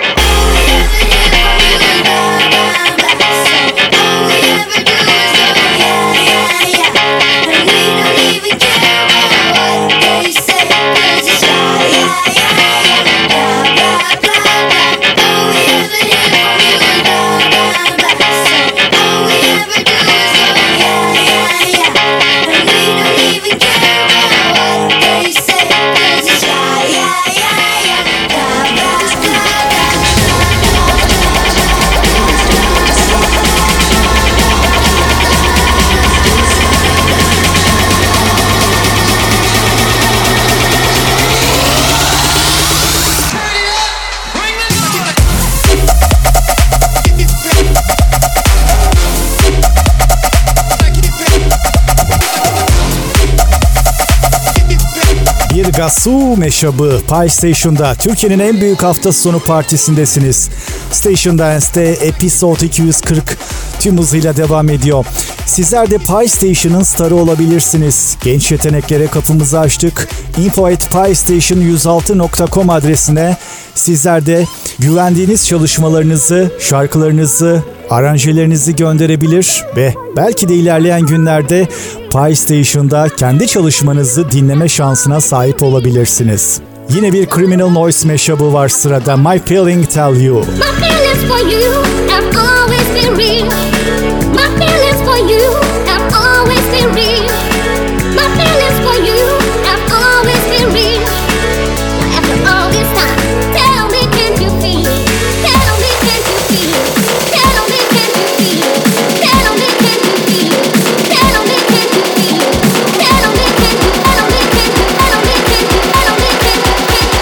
Gasu meşabı Pi Station'da Türkiye'nin en büyük hafta sonu partisindesiniz. Station Dance'te Episode iki yüz kırk tüm hızıyla devam ediyor. Sizler de Pi Station'ın starı olabilirsiniz. Genç yeteneklere kapımızı açtık. info at pi station yüz altı nokta com adresine sizler de güvendiğiniz çalışmalarınızı, şarkılarınızı, aranjelerinizi gönderebilir ve belki de ilerleyen günlerde Pi Station'da kendi çalışmanızı dinleme şansına sahip olabilirsiniz. Yine bir Criminal Noise meşabı var sırada. My Feeling Tell You. My feelings for you have always been real. My feelings for you have always been real. My feelings for you have always been real. After all this time, tell me, can you feel it? Tell me, can you feel it? Tell me, can you feel it? Tell me, can you feel it? Tell me, can you feel it? Tell me, can you? Tell me, can you? Tell me, can you? Tell me, can you?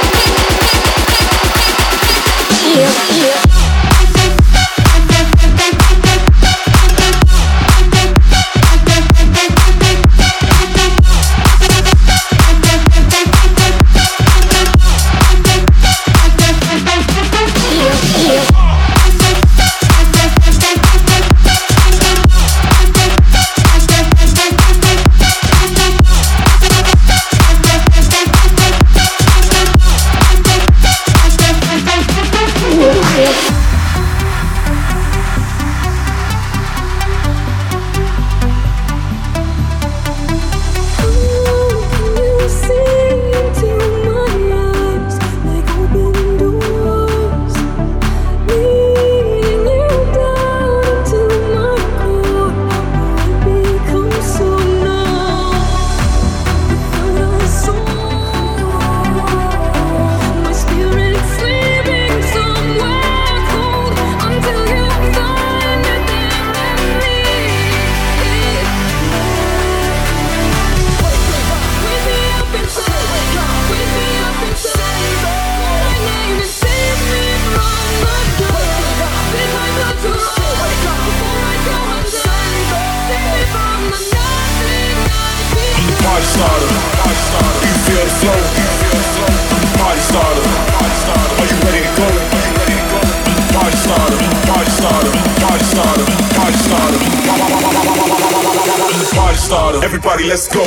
Feel, feel. Everybody, let's go.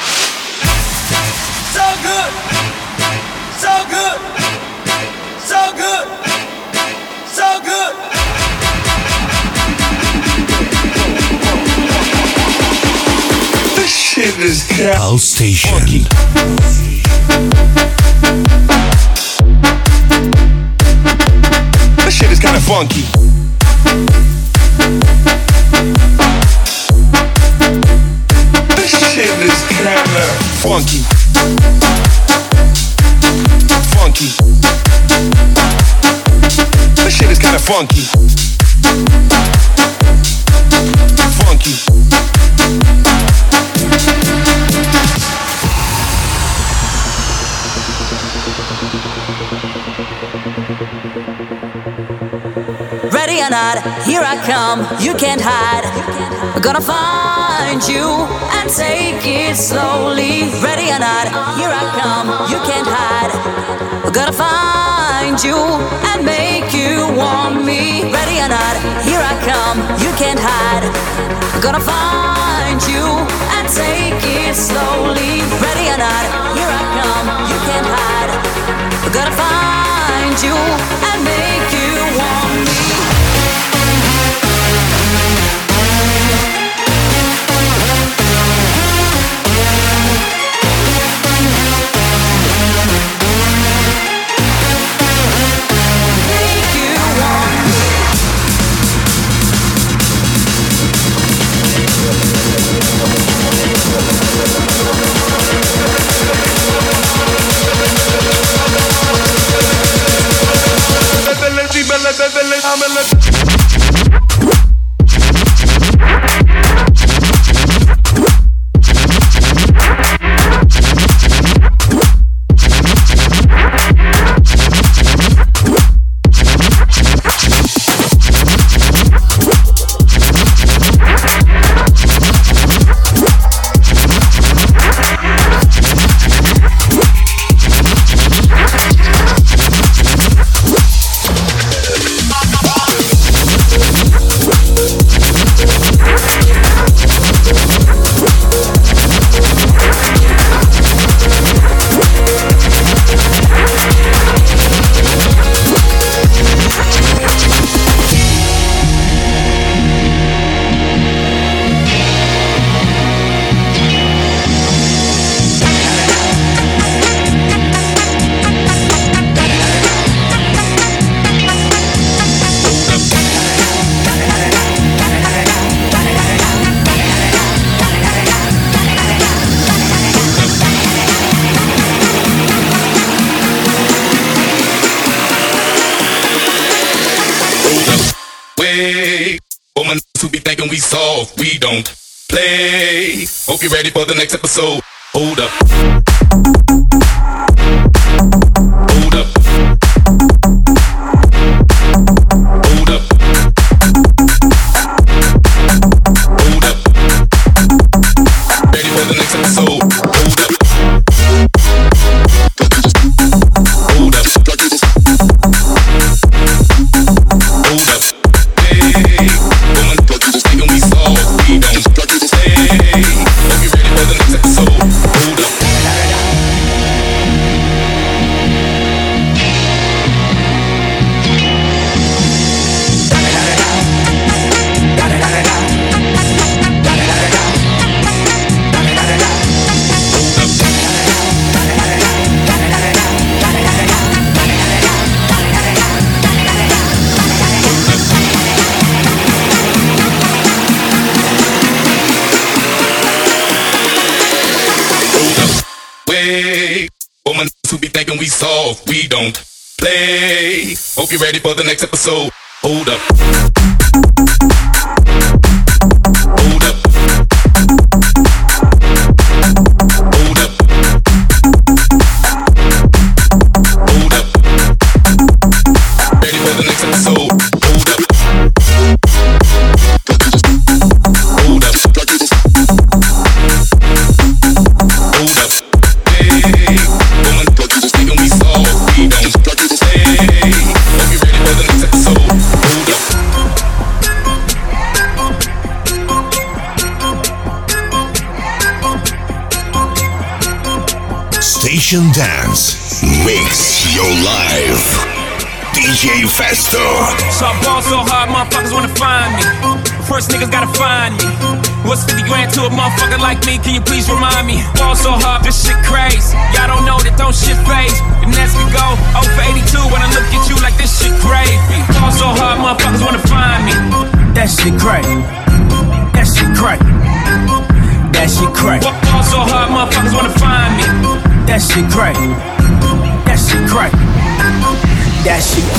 So Pulse Station. This shit is kinda funky. This shit is kinda funky. Funky. This shit is kinda funky. Funky. Ready or not, here I come, you can't hide. I'm gonna find you and take it slowly. Ready or not, here I come, you can't hide. I'm gonna find you and make you want me. Ready or not, here I come, you can't hide. I'm gonna find you and take it slowly. Ready or not, here I come, you can't hide. I'm gonna find you and make you want me. Who be thinking we soft, we don't play. Hope you're ready for the next episode. Hold up. Hold up. Hold up. Hold up. Ready for the next episode. Hold up. Hold up. Hold up. Hey, woman, thinking we soft, we don't play. Hope you're ready for the next episode. Hold up. Woman who be thinking we soft, we don't play. Hope you're ready for the next episode. Hold up. Hold up. Hold up. Hold up. Ready for the next episode. Hold up. Hold up. Hold up. Hey, woman, thinking we soft, we don't play. Hope you're ready for the next episode. Hold up. Station Dance. Mix your life. D J Festo. So I ball so hard, motherfuckers wanna find me. First niggas gotta find me. What's fifty grand to a motherfucker like me? Can you please remind me? Ball so hard, this shit crazy. Y'all don't know that don't shit phase. And as we go, oh for eighty-two when I look at you like this shit crazy. Ball so hard, motherfuckers wanna find me. That shit crazy. That shit crazy. That shit crazy. Ball so hard, motherfuckers wanna find me. That shit crazy. That shit crazy. That shit.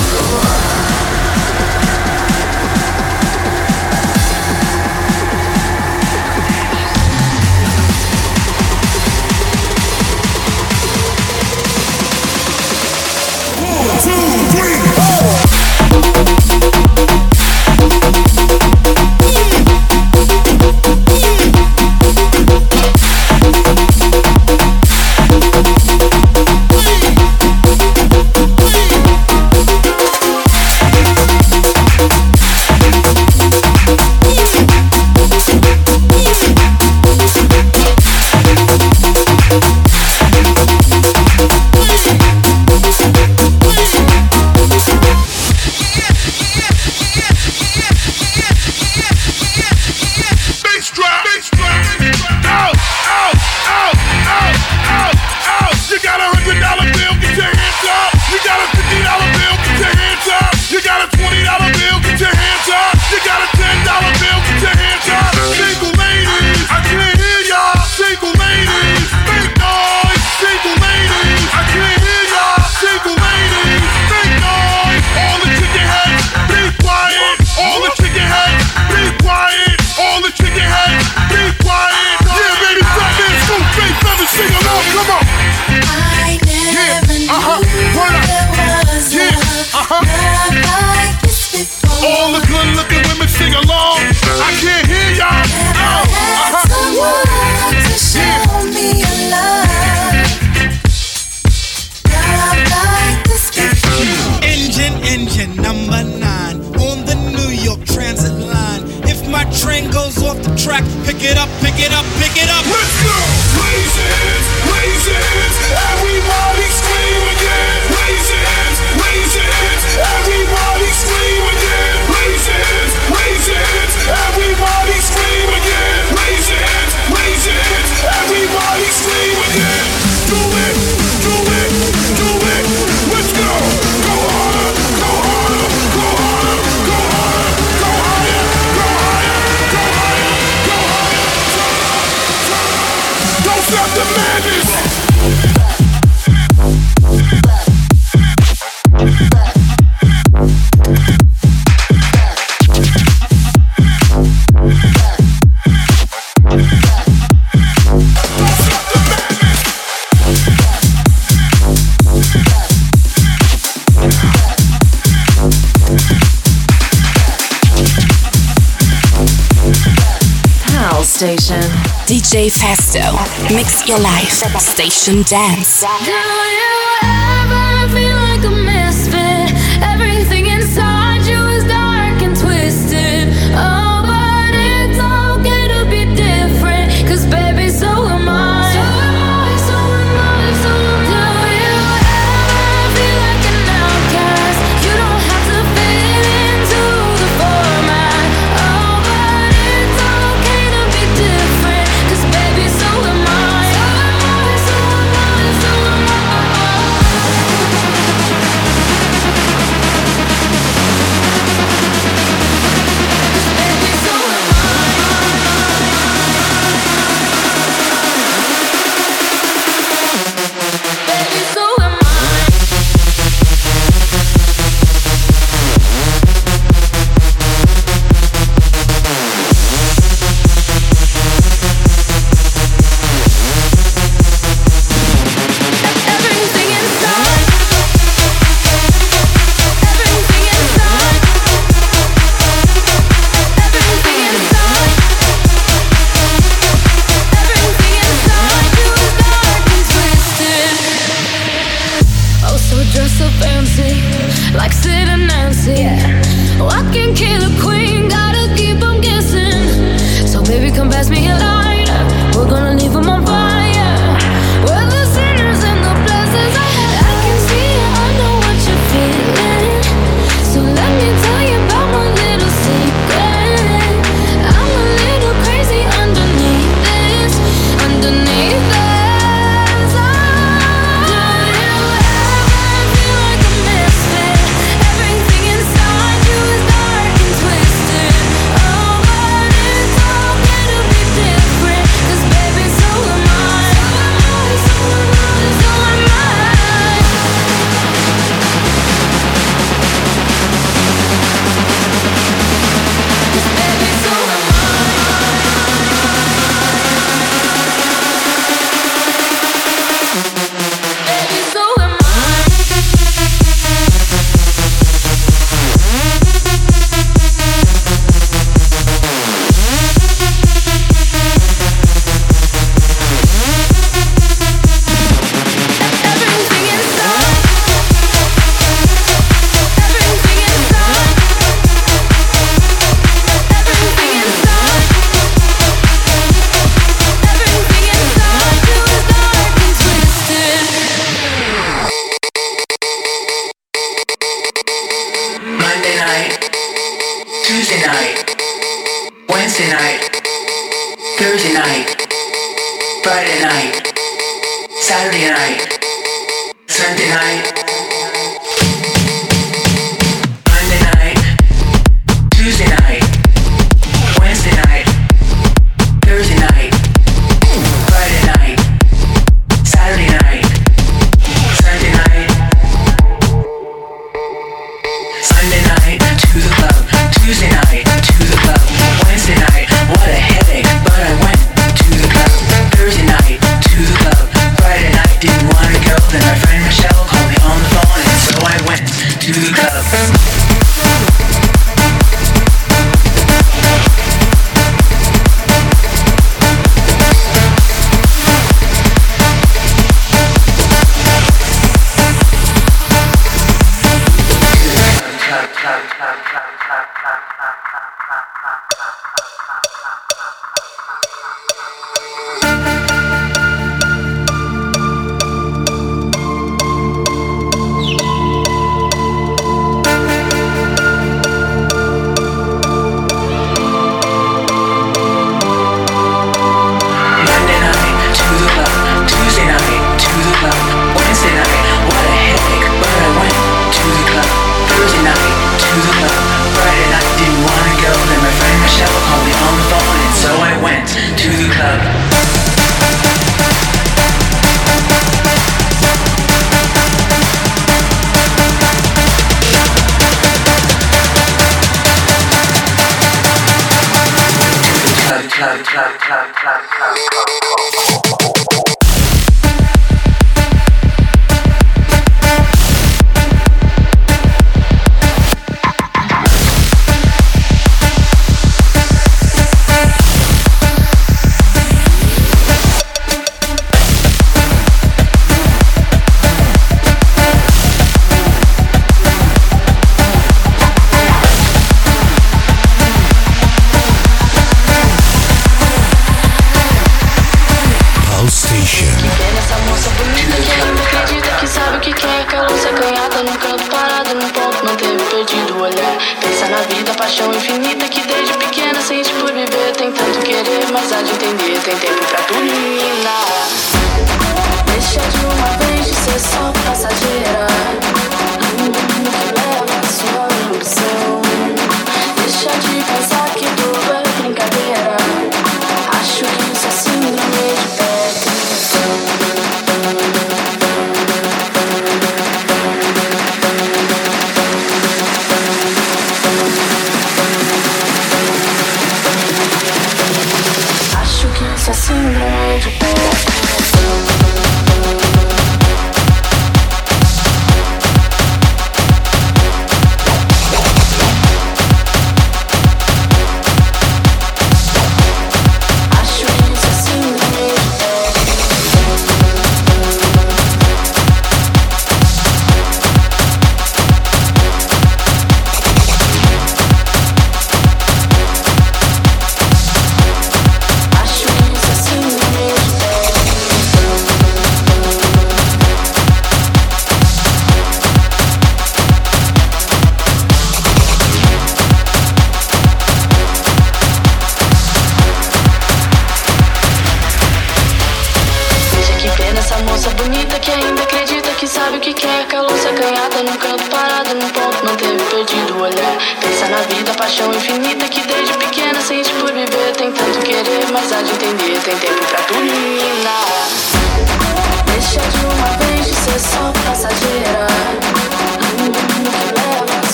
Station. D J Festo. Mix your life. Station Dance. Do you ever feel like a misfit? Everything inside you is dark and twisted. Oh, but it's okay to be different. Cause baby, so am I. So am I, so am I, so am I. Do you ever feel like an outcast? You don't have to fit into the format. Oh, but it's okay to be different. Cause baby, so am I. So am I, so am I, so am I. Monday night, Tuesday night, Wednesday night, Thursday night, Friday night, Saturday night, Sunday night. Monday night, Tuesday night, Wednesday night, Thursday night, Friday night, Saturday night, Sunday night. Sunday night, to the club, Tuesday night, to the club, Wednesday night, what a headache, but I went to the club. Thursday night, to the club, Friday night, didn't wanna go, then my friend Michelle called me on the phone, and so I went to the club.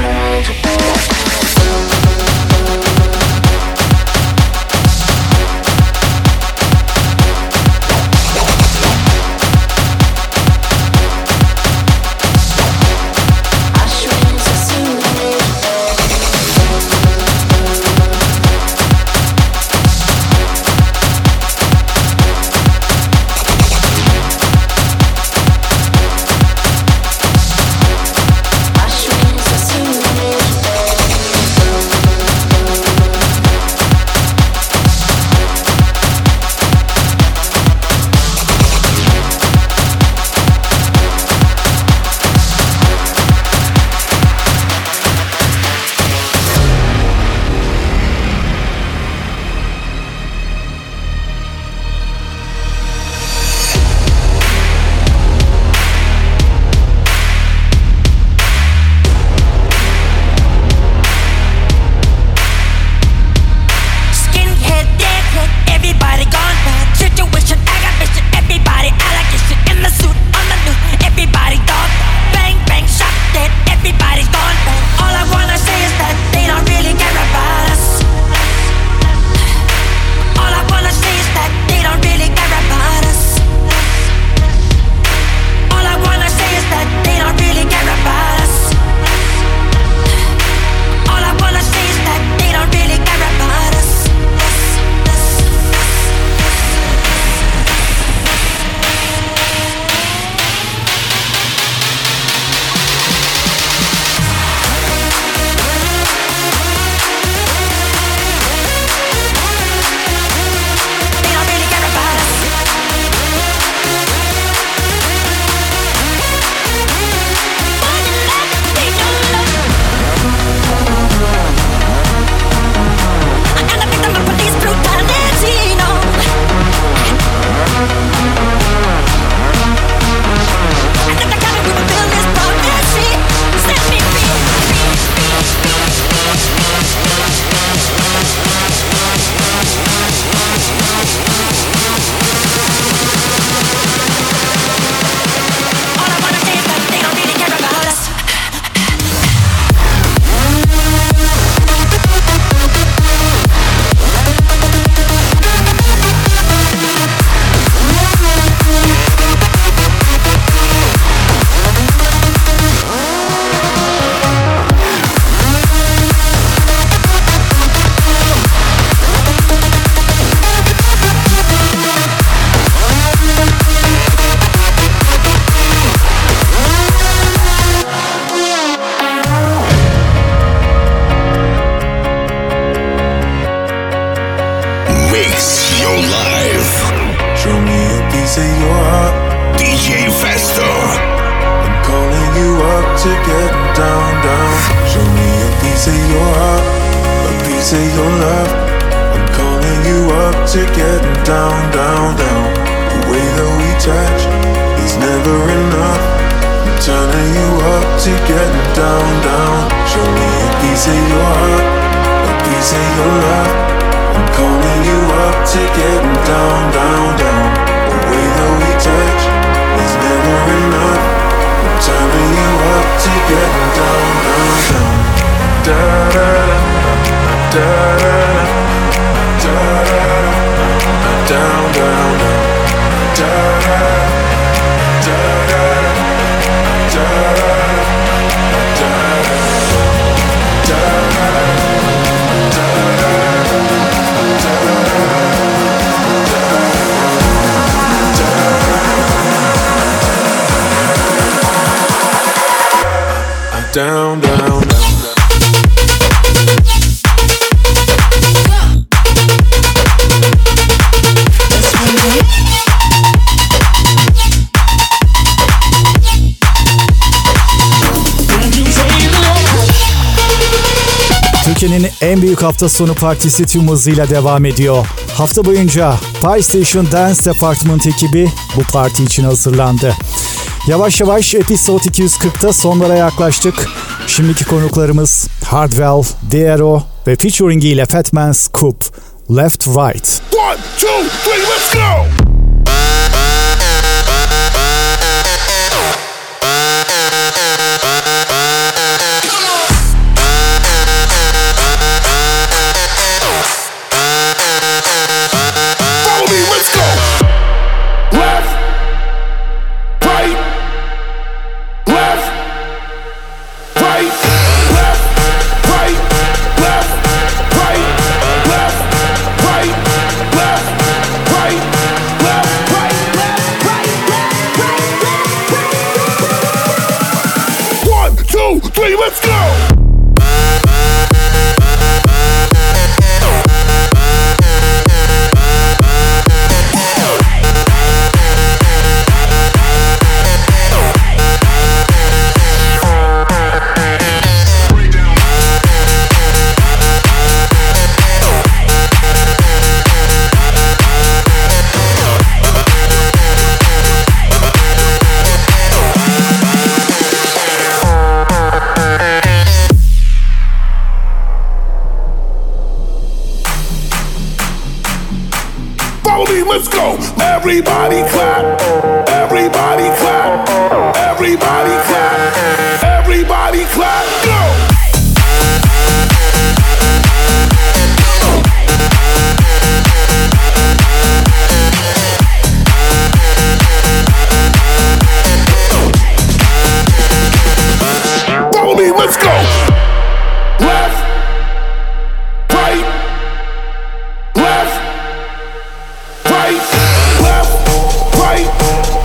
Síndrome de to getting down, down. Show me a piece of your heart, a piece of your love. I'm calling you up to getting down, down, down. The way that we touch is never enough. I'm turning you up to getting down, down. Show me a piece of your heart, a piece of your love. I'm calling you up to getting down, down, down. The way that we touch is never enough. I'm turning you up to getting down, down, down. Da da da da da da da down, down, down. Da da da da da da down, down, down. Türkiye'nin en büyük hafta sonu partisi tüm hızıyla devam ediyor. Hafta boyunca Pie Station Dance Department ekibi bu parti için hazırlandı. Yavaş yavaş Episode iki yüz kırkta sonlara yaklaştık. Şimdiki konuklarımız Hardwell, Diero ve featuring ile Fatman Scoop, Left Right. One, two, three, let's go! Let's go! Let's go! Everybody clap! Everybody clap! Everybody clap! Everybody clap! Go! Follow me, let's go! Left! Right! Left! Right, left, right,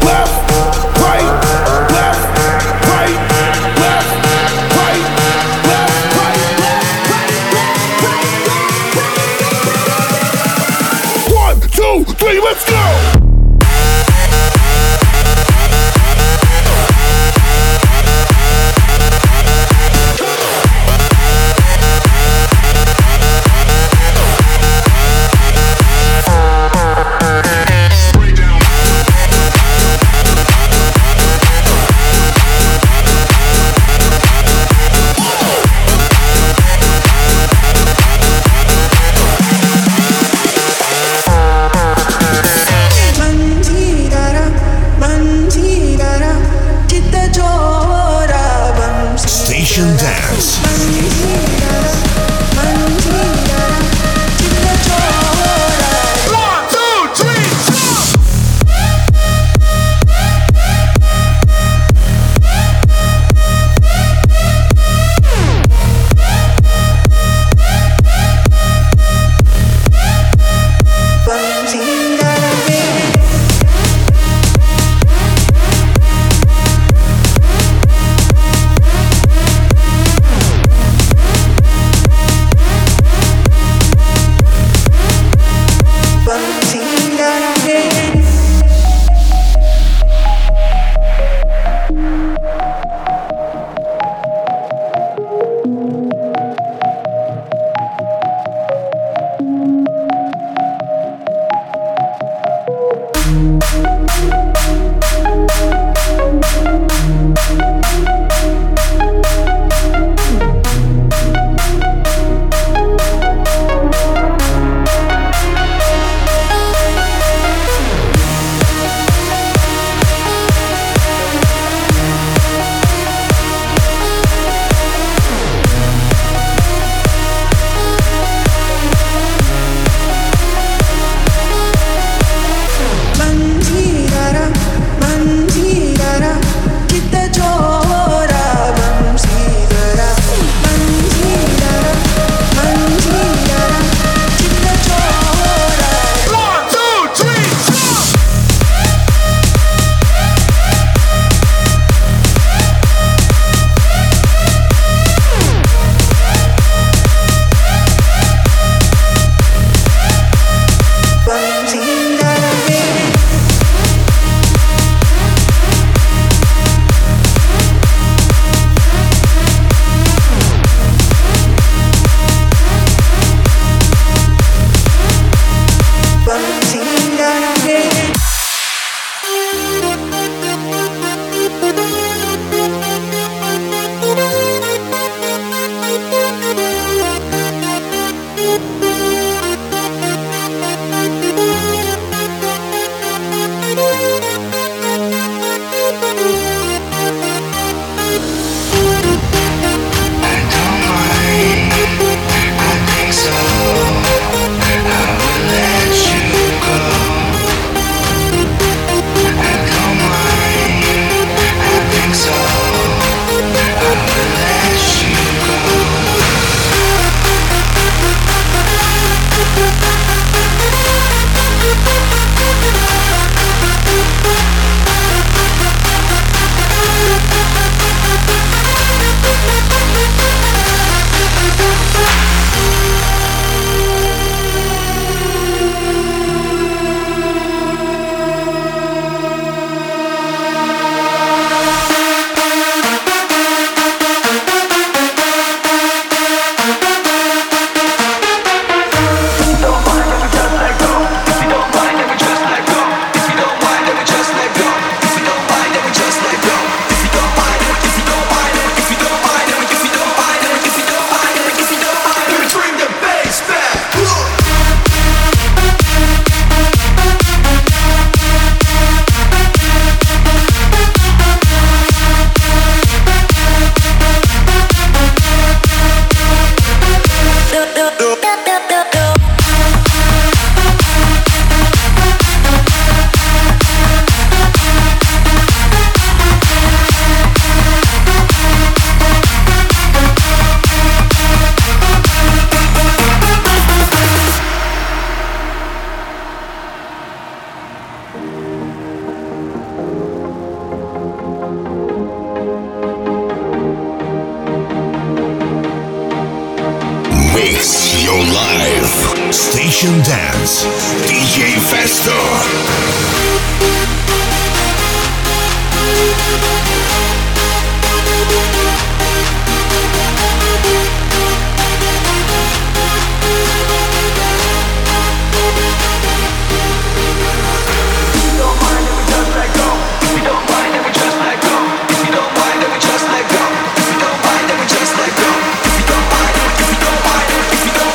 Mix your life. Station Dance. D J Festo.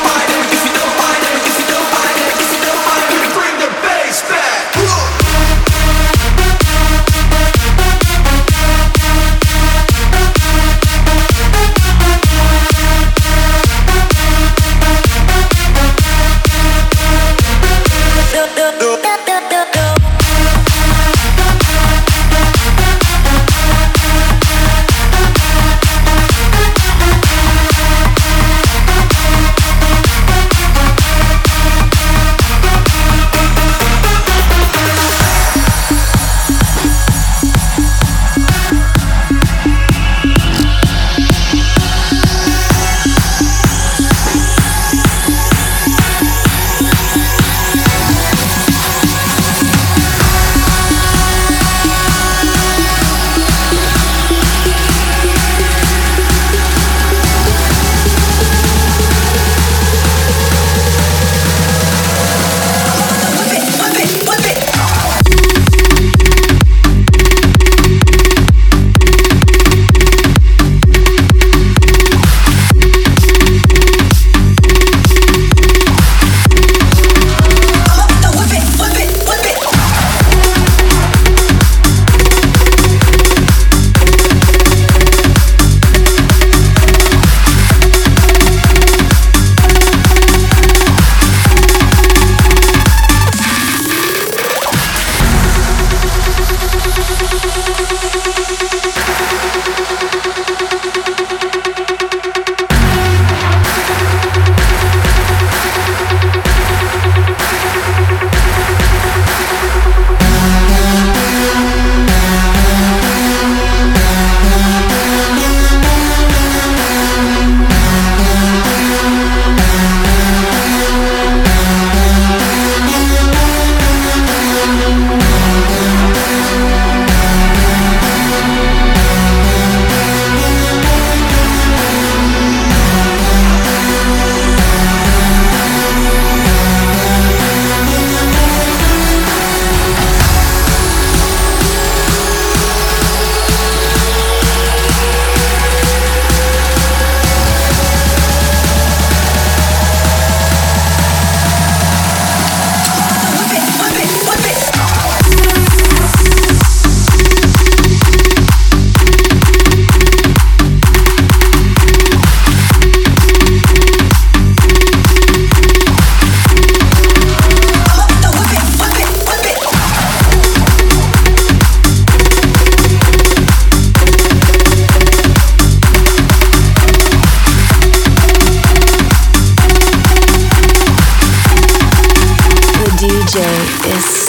Bring the bass back.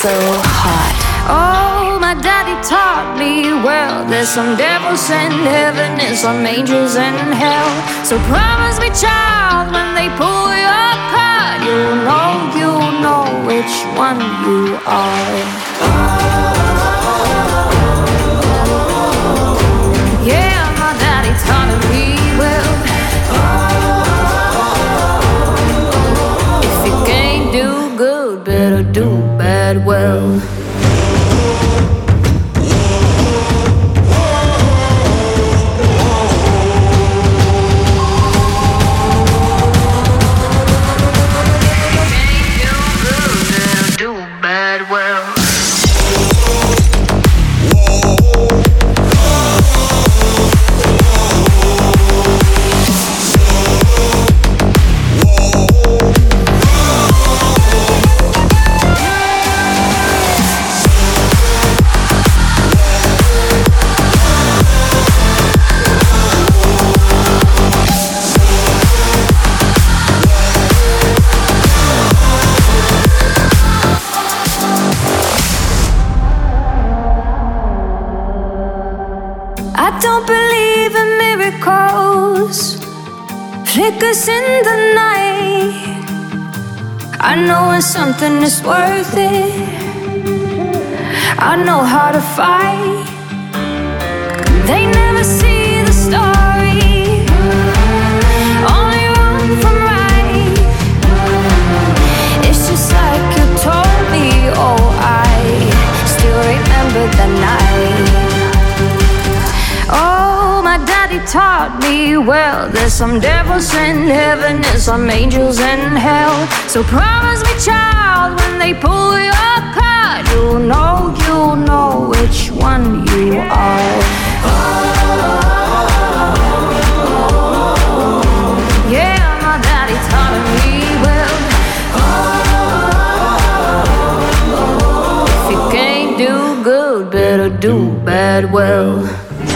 so hot. Oh, my daddy taught me well. There's some devils in heaven and some angels in hell. So promise me, child, when they pull your card, you know, you know which one you are. Yeah, my daddy taught me well. If you can't do good, better do bad well. Flickers in the night, I know when something is worth it. I know how to fight. They never see the story, only run from right. It's just like you told me, oh, I still remember the night. Oh, my daddy taught me well. There's some devils in heaven and some angels in hell. So promise me, child, when they pull your card, you'll know, you'll know which one you are. Yeah, my daddy taught me well. If you can't do good, better do bad well.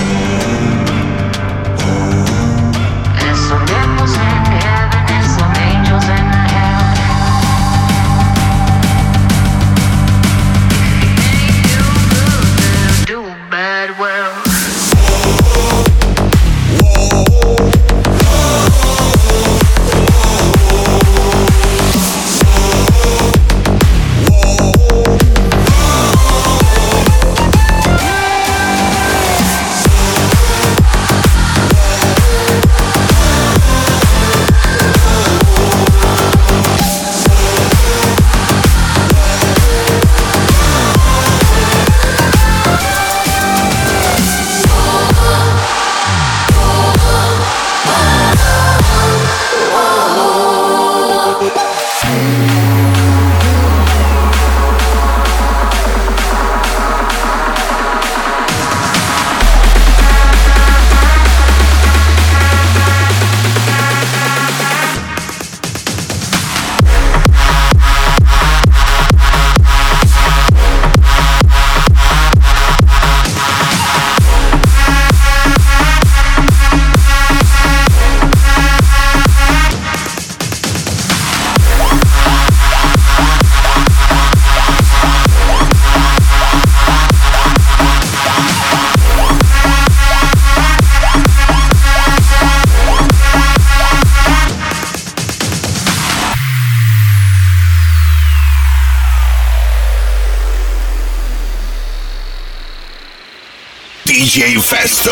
D J Festo.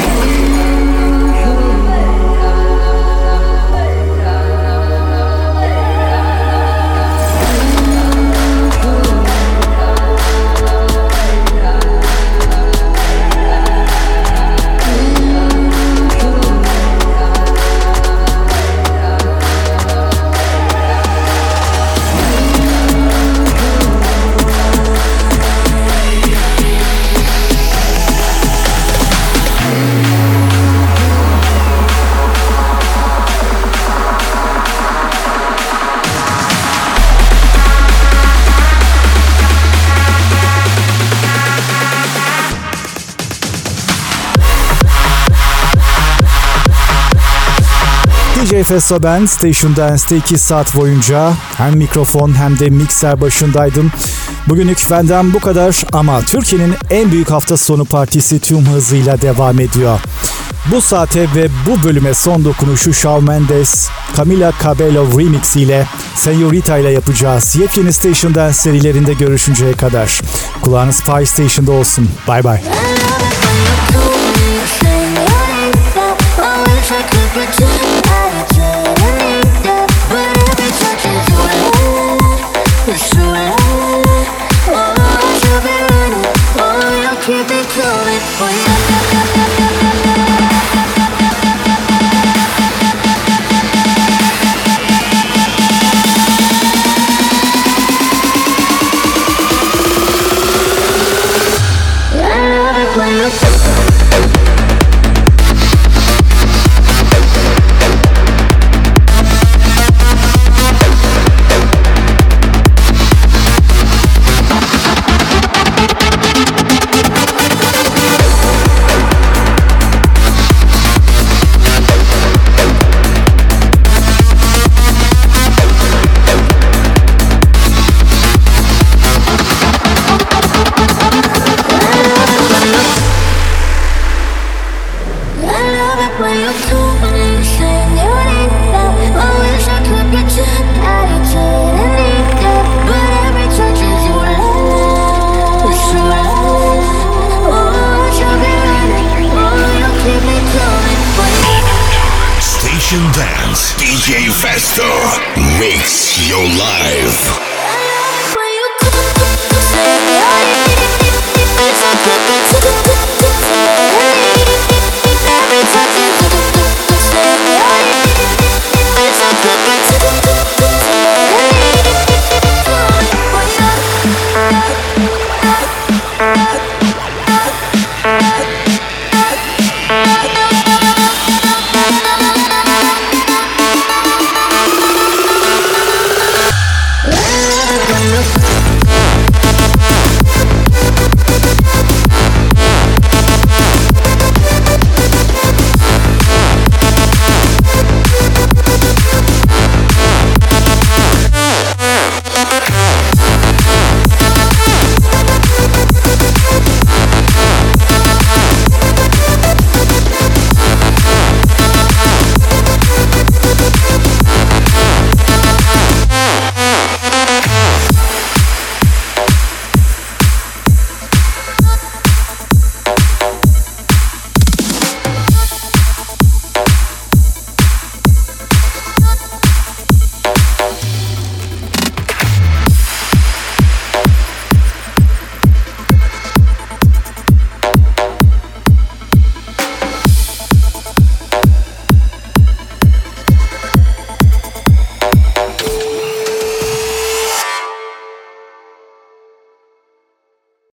D J Festo ben, Station Dance'te iki saat boyunca hem mikrofon hem de mikser başındaydım. Bugünlük benden bu kadar ama Türkiye'nin en büyük hafta sonu partisi tüm hızıyla devam ediyor. Bu saate ve bu bölüme son dokunuşu Shawn Mendes, Camila Cabello Remix ile Señorita ile yapacağız. Yepyeni Station Dance serilerinde görüşünceye kadar. Kulağınız Pie Station'da olsun. Bye bye. Station Dance, D J Festo makes your life.